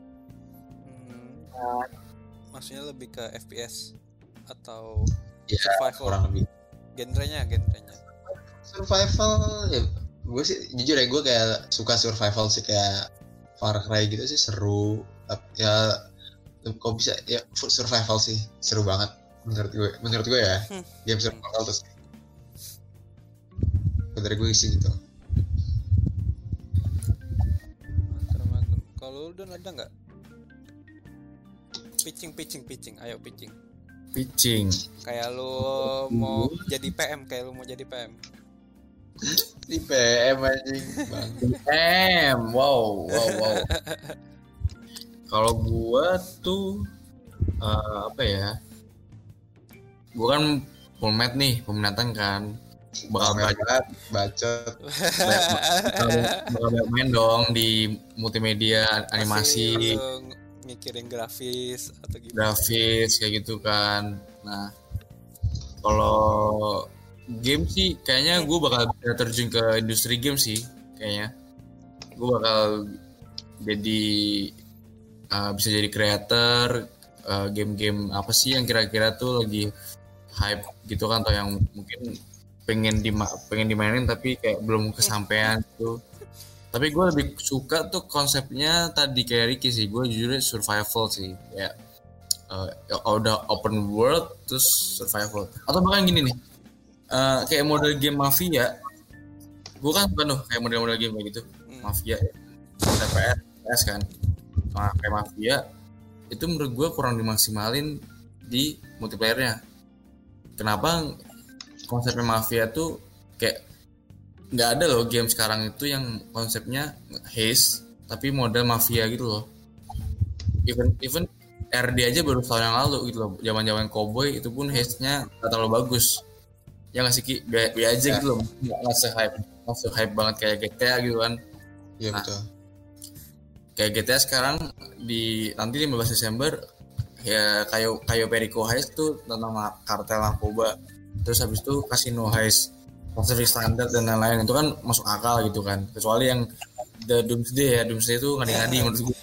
Hmm, maksudnya lebih ke F P S atau Ya survival? kurang lebih Genrenya, genrenya. survival ya. Gue sih jujur ya, gue kayak suka survival sih, kayak Far Cry gitu sih seru. Tapi ya kok bisa ya, survival sih seru banget menurut gue, menurut gue ya. Hmm. Game survival terus dari gue sih gitu. Mantap, mantap. Kalau lu udah ada nggak? Pitching, pitching, pitching. Ayo pitching. Pitching. Kayak lu mau jadi P M, kayak lu mau jadi P M. Di P M anjing bang. M, wow, wow, wow. Kalau gua tuh eh, apa ya? Gua kan peminat nih, peminatan kan. Bakal Bakal banyak, bacot. bakal bakal banyak main dong di multimedia, Pasti animasi, lu mikirin grafis atau gimana? grafis kayak gitu kan. Nah, kalau game sih kayaknya gue bakal bisa terjun ke industri game sih kayaknya. Gue bakal jadi uh, bisa jadi creator uh, game-game apa sih yang kira-kira tuh lagi hype gitu kan, atau yang mungkin pengen di pengen dimainin tapi kayak belum kesampaian gitu. Tapi gue lebih suka tuh konsepnya tadi kayak Ricky sih. Gue jujur survival sih, kayak uh, udah open world terus survival. Atau bahkan gini nih, uh, kayak model game Mafia. Gue kan bukan tuh kayak model-model game kayak gitu, Mafia, T P S, T P S kan. Nah, kayak Mafia itu menurut gue kurang dimaksimalin di multiplayernya. Kenapa konsepnya Mafia tuh kayak nggak ada loh game sekarang itu yang konsepnya heist tapi model mafia gitu loh. Even even R D aja baru tahun yang lalu gitu loh, zaman-zaman Cowboy itu pun heistnya nggak terlalu bagus. Ya nggak sih, be aja gitu loh, nggak se-hype, nggak se-hype banget kayak G T A gitu kan. Iya Nah, betul. Kayak G T A sekarang di nanti lima belas Desember ya kayak kayak Perico heist tuh tentang kartel narkoba. Terus habis itu Casino heist, Pacific Standard dan lain-lain, itu kan masuk akal gitu kan. Kecuali yang The Doomsday ya, Doomsday itu ngadi-ngadi menurut gue.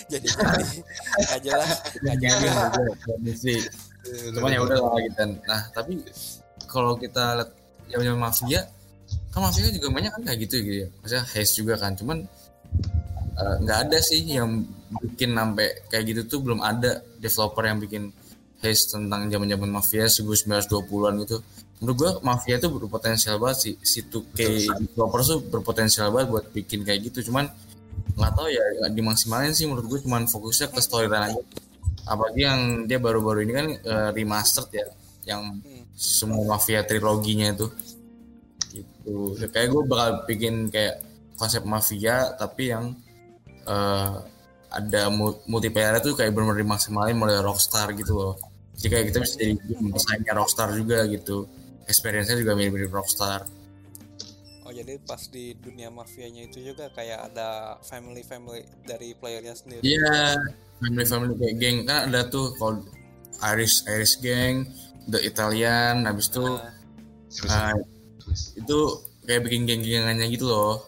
jadi jadi nggak jelas nggak jelas. Jadi sih. Cuman ya udah lah gitu. Nah tapi kalau kita lihat yang mafia, kan mafia juga banyak kan kayak gitu gitu ya. Maksudnya heist juga kan. Cuman nggak uh, ada sih yang bikin sampai kayak gitu tuh, belum ada developer yang bikin heist tentang zaman-zaman mafia seribu sembilan ratus dua puluhan gitu. Menurut gua mafia itu berpotensial banget sih, si two K developer tuh berpotensial banget buat bikin kayak gitu. Cuman nggak tahu ya, nggak dimaksimalin sih menurut gua. Cuman fokusnya ke storyline aja. Apalagi yang dia baru-baru ini kan uh, remastered ya, yang semua mafia triloginya itu. Gitu. Kayak gue bakal bikin kayak konsep mafia tapi yang uh, ada multiplayer itu kayak benar-benar dimaksimalin mulai Rockstar gitu loh. Jadi kayak kita bisa jadi pesaingnya Rockstar juga gitu. Experience-nya juga mirip-mirip Rockstar. Oh jadi pas di dunia mafianya itu juga kayak ada family-family dari playernya sendiri. Iya, yeah, family-family kayak geng kan ada tuh kalau Irish Irish gang, The Italian, habis itu uh, uh, itu kayak bikin geng-gengannya gitu loh.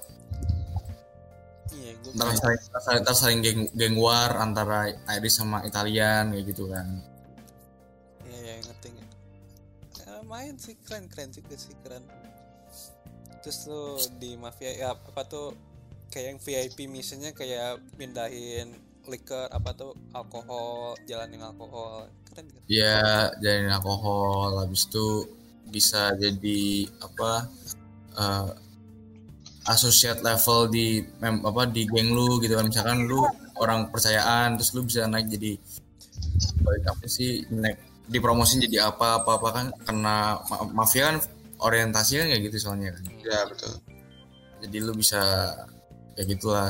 Iya, gue ntar saling, saling, saling geng, geng war antara Irish sama Italian kayak gitu kan. Iya, ya, ngerti nggak? Ya, main sih keren keren juga sih keren. Terus tuh di mafia ya apa tuh kayak yang V I P missionnya kayak pindahin liquor apa tuh alkohol, jalanin alkohol, keren kan? Iya, jalanin alkohol, habis itu bisa jadi apa uh, associate level di mem, apa di geng lu gitu kan. Misalkan lu orang percayaan terus lu bisa naik jadi apa sih, naik dipromosin jadi apa apa apa kan, karena ma- mafia kan orientasinya kayak gitu soalnya kan. Ya betul. Jadi lu bisa kayak gitulah.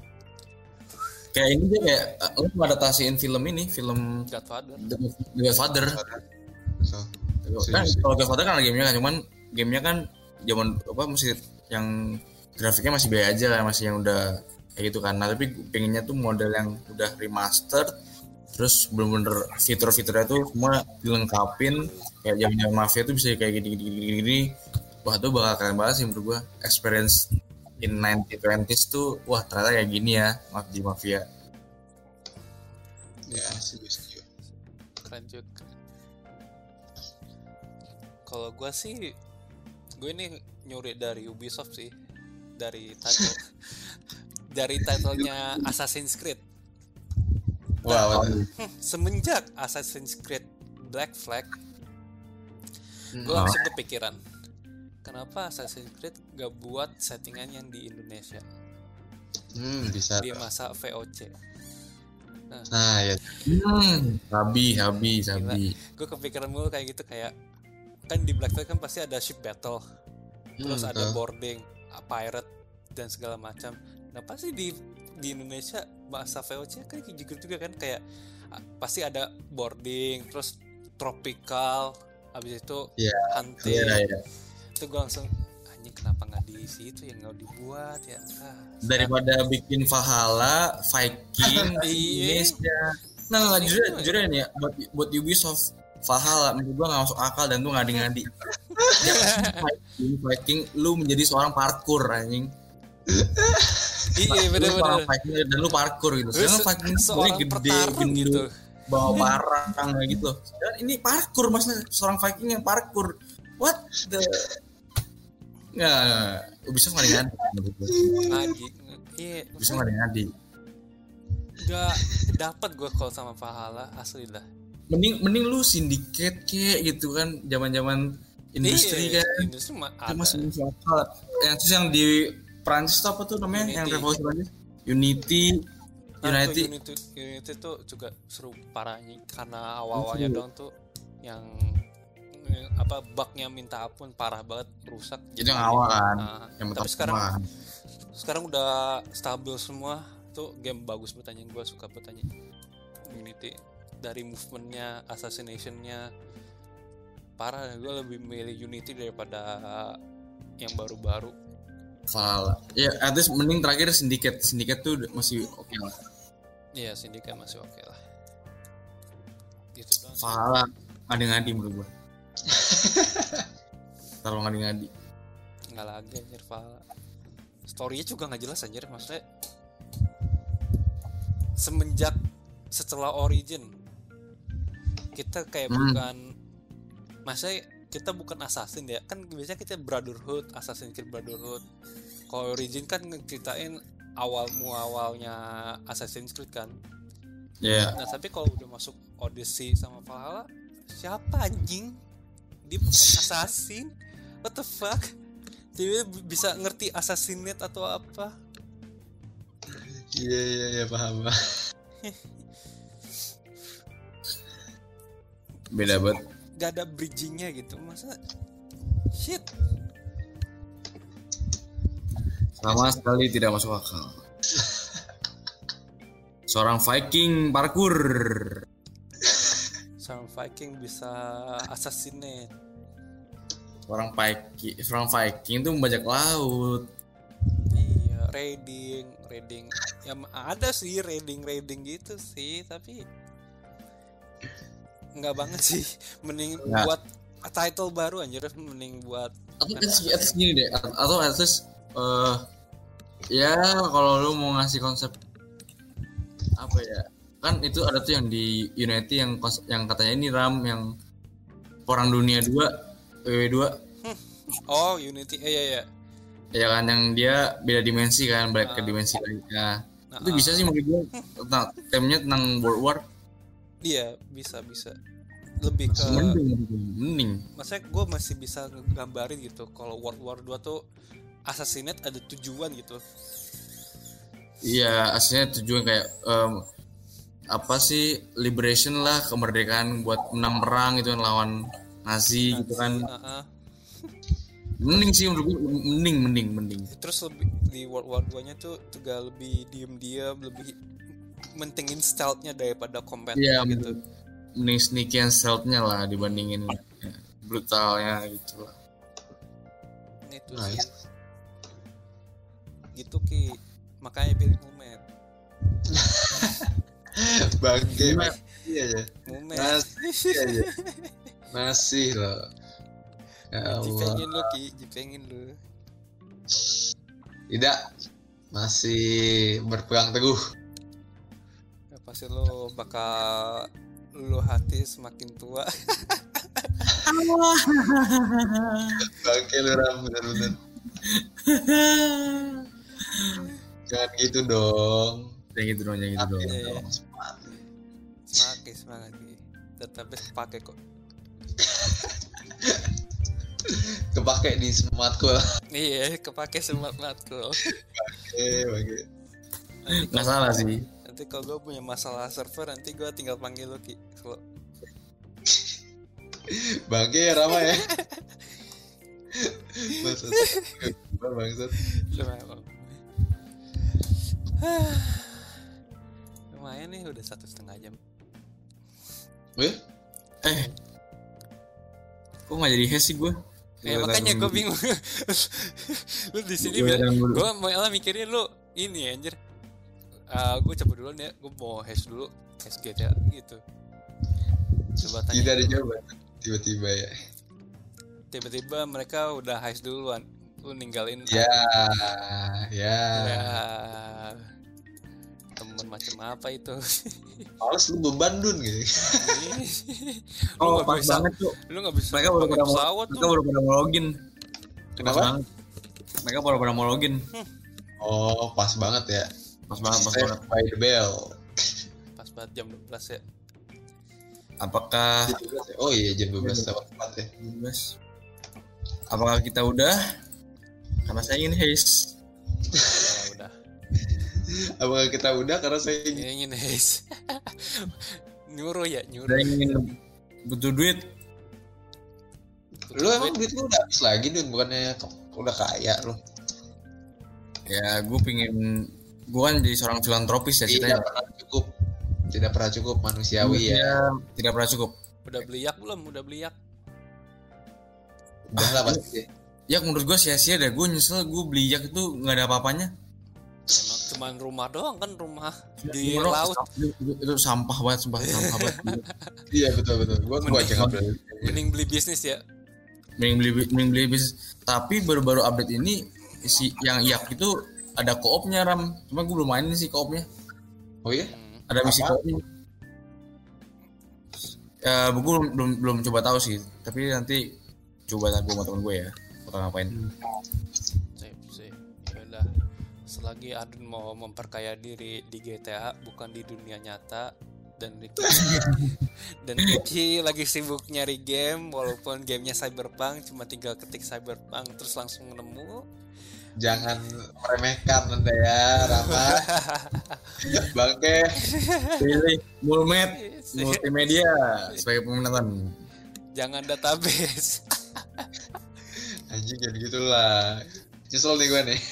Kayak ini dia kayak uh, lu adaptasiin film ini, film Godfather. The Godfather. So, Kan kalau Godfather kan ada gamenya kan, cuman gamenya kan zaman apa masih yang grafiknya masih biasa aja kan, masih yang udah kayak gitu kan. Nah tapi pengennya tuh model yang udah remastered, terus bener-bener fitur-fiturnya tuh semua dilengkapin kayak zaman mafia tuh bisa kayak gini-gini. Wah tuh bakal keren banget sih menurut gua. Experience in nineteen twenties tuh wah ternyata kayak gini ya di mafia. Ya setuju. Keren juga. Kalau gue sih, gue ini nyuri dari Ubisoft sih, dari title, dari titlenya Assassin's Creed. Wah, wow, hmm, semenjak Assassin's Creed Black Flag, gue oh. langsung kepikiran, kenapa Assassin's Creed gak buat settingan yang di Indonesia? Hmm, bisa. Di masa V O C. Nah, nah ya. Hmm, habi, habi, habi. Gue kepikiran mulu kayak gitu, kayak kan di Black Flag kan pasti ada ship battle, terus hmm, ada boarding, pirate dan segala macam. Nah pasti di di Indonesia bahasa V O C kan gitu juga kan, kayak pasti ada boarding, terus tropical, habis itu yeah, hunting. Yeah, yeah. Itu gue langsung anjing kenapa nggak di situ yang nggak dibuat ya? Ah, daripada sekarang bikin Valhalla, Viking, Indonesia. Nah, nah jujur jujur ini ya buat buat Ubisoft Valhalla menurut gue nggak masuk akal dan tuh ngadi-ngadi. Viking, Viking, lu menjadi seorang parkour anjing. Iya benar-benar. Viking dan lu parkour gitu. Sekarang Viking seorang gede, gede gitu, bawa parang kayak gitu. Dan ini parkour maksudnya seorang Viking yang parkour. What the? Nggak, Ubisoft ngadi-ngadi. Ngadi, iya. Ubisoft ngadi-ngadi. Gak dapat gue kalau sama Valhalla asli lah. Mending mending lu syndicate kayak gitu kan, zaman-zaman industri iya, kan. Industri mah ada. Masih lokal. Yang terus yang di Prancis tuh apa tuh namanya? Unity. Yang revolusi Prancis. Unity. Nah, Unity. Tuh, Unity. Unity tuh juga seru parahnya karena awal-awalnya uh. dong tuh yang apa bugnya minta ampun parah banget, rusak. Itu yang awal kan. Nah, yang tapi sekarang kan. sekarang udah stabil semua. Tuh game bagus bertanya, gue suka bertanya Unity. Dari movementnya, assassinationnya parah. Gue lebih milih Unity daripada yang baru-baru. Valhalla. Ya, at least mending terakhir Syndicate. Syndicate tuh masih oke okay lah. Iya, Syndicate masih oke okay lah. Gitu kan. Valhalla ngadi-ngadi menurut gue. Terlalu ngadi-ngadi. Enggak lagi anjir Valhalla. Story-nya juga enggak jelas anjir, maksudnya semenjak setelah Origin kita kayak Hmm. bukan masa kita bukan assassin ya, kan biasanya kita Brotherhood, Assassin's Creed Brotherhood. Kalau Origin kan ngeceritain awal muawalnya Assassin's Creed kan. Ya. Nah tapi kalau udah masuk Odyssey sama Valhalla, siapa anjing? Dia bukan assassin. What the fuck? Dia bisa ngerti assassinate atau apa? Iya iya iya paham. Beda banget. Gak ada bridgingnya gitu, masa shit. Sama sekali tidak masuk akal. Seorang Viking parkour. Seorang Viking bisa assassinate. Seorang Viking, seorang Viking itu membajak laut. Iya, raiding, raiding. Ya ada sih raiding raiding gitu sih, tapi nggak banget sih. Mending Nggak. buat title baru anjir, mending buat Atau atas, atas gini deh, atau atas eh ya kalau lu mau ngasih konsep apa ya, kan itu ada tuh yang di Unity yang kons- yang katanya ini RAM yang Perang Dunia dua W W dua oh Unity, eh iya iya. ya kan, yang dia beda dimensi kan, balik ke Ah. dimensi lain. Nah, Nah, itu bisa sih menurut gue tentang temanya tentang World War. Iya bisa bisa. Lebih ke Mending, mending. maksudnya gue masih bisa ngegambarin gitu kalau World War dua tuh assassinate ada tujuan gitu. Iya, aslinya tujuan kayak em, apa sih, liberation lah, kemerdekaan buat menang perang gitu kan lawan Nazi gitu kan. Heeh. Mending sih menurut gue, mending mending mending. Terus lebih di World War dua nya tuh juga lebih diem-diem, lebih mentingin stealth-nya daripada combat Iya, gitu. mending sneaky and stealth-nya lah dibandingin ya, brutalnya gitu lah. Itu Nice. sih. Gitu Ki. Makanya pilih Mumet. Bangke. Iya ya. Mumet. Masih aja. Masih loh. Ya Allah. Jipengin lu Ki, jipengin lu. Tidak. Masih berpegang teguh. Ya, pasti lu bakal lu hati semakin tua. Bangke lu Ram, bener-bener. Jangan gitu dong. Jangan gitu dong, jangan gitu dong. Iya, iya. Semangat. Semangat semangat Ki. Tetap pakai kok. Kepake di sematku lah. Iya, kepake semangat matkul. Eh, bangke. Nggak salah sih. Nanti kalau gue punya masalah server, nanti gue tinggal panggil lu Ki. Kalau Bangke ya Rama ya. Maksud bangsat. lumayan, lumayan nih udah satu setengah jam. Wih, Eh, kok nggak jadi hash sih gue? Ya makanya gue bingung. Lu di sini Gua bilang, yang dulu. gue malah mikirin lu ini anjir. Uh, gue coba dulu nih, gue mau hash dulu, hash G T A gitu. Coba tanya. kita ada jawaban tiba-tiba ya. Tiba-tiba mereka udah hash duluan, lu ninggalin. Ya, ya. Ya. Temen macam apa itu? Males lu beban dun gitu. Lu Oh, nggak pas bisa, banget tuh. lu nggak bisa Mereka baru pakai pada mau, pesawat mereka tuh. baru pada mau login. Pas Kenapa? banget. Mereka baru pada mau login. Oh, pas banget ya. Pas banget, pas Save banget. by the bell. Pas banget jam dua belas ya. Apakah Oh iya jam dua belas lewat empat ya. Bebas. Apakah kita udah? Karena saya ingin haze. Ya udah. Apakah kita udah karena saya ingin Ingin haze. Nyuruh ya, nyuruh. Saya ingin butuh duit. lu emang duit lu udah habis lagi dun, bukannya udah kaya lu. Ya, gue pingin. Gue kan jadi seorang filantropis ya Tidak ceritanya. pernah cukup. Tidak pernah cukup manusiawi ya. Tidak pernah cukup. Udah beli yak belum? Udah beli yak. Udah lah pasti. Ya menurut gue sia-sia deh. Gue nyesel gue beli yak itu nggak ada apa-apanya. Emang cuman rumah doang kan, rumah di Menurut- laut. Itu, itu, itu sampah banget, sumpah sampah banget. Iya betul betul. Gua gua aja nggak beli. Mending beli bisnis ya. Mending beli, mending beli bisnis. Tapi baru-baru update ini si yang yak itu ada koopnya Ram. Cuma gue belum mainin sih koopnya. Oh iya? Hmm. Ada misi Apa? coding. Ya, gue belum, belum belum coba tahu sih, tapi nanti coba gue sama temen gue ya, bakal ngapain. Sip, sip. Ya udah. Selagi Adun mau memperkaya diri di G T A bukan di dunia nyata, dan Ricky dan Ricky lagi sibuk nyari game walaupun gamenya Cyberpunk, cuma tinggal ketik Cyberpunk terus langsung nemu. Jangan meremehkan Anda ya, Rama. Bangke. Pilih Mulmed Multimedia sebagai pemenang. Jangan database. Anjing jadi gitulah. Nyesel nih gue nih.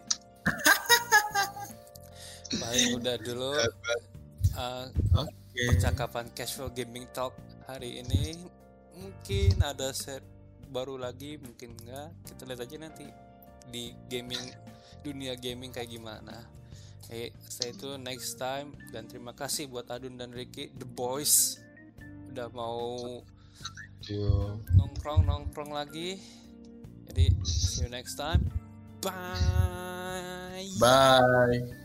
Paling udah dulu uh, Oke. percakapan casual gaming talk hari ini. Mungkin ada set baru lagi, mungkin enggak. Kita lihat aja nanti di gaming, dunia gaming kayak gimana. Eh, stay tune next time, dan terima kasih buat Adun dan Ricky, the boys, udah mau Yo. nongkrong nongkrong lagi. Jadi see you next time. Bye. Bye.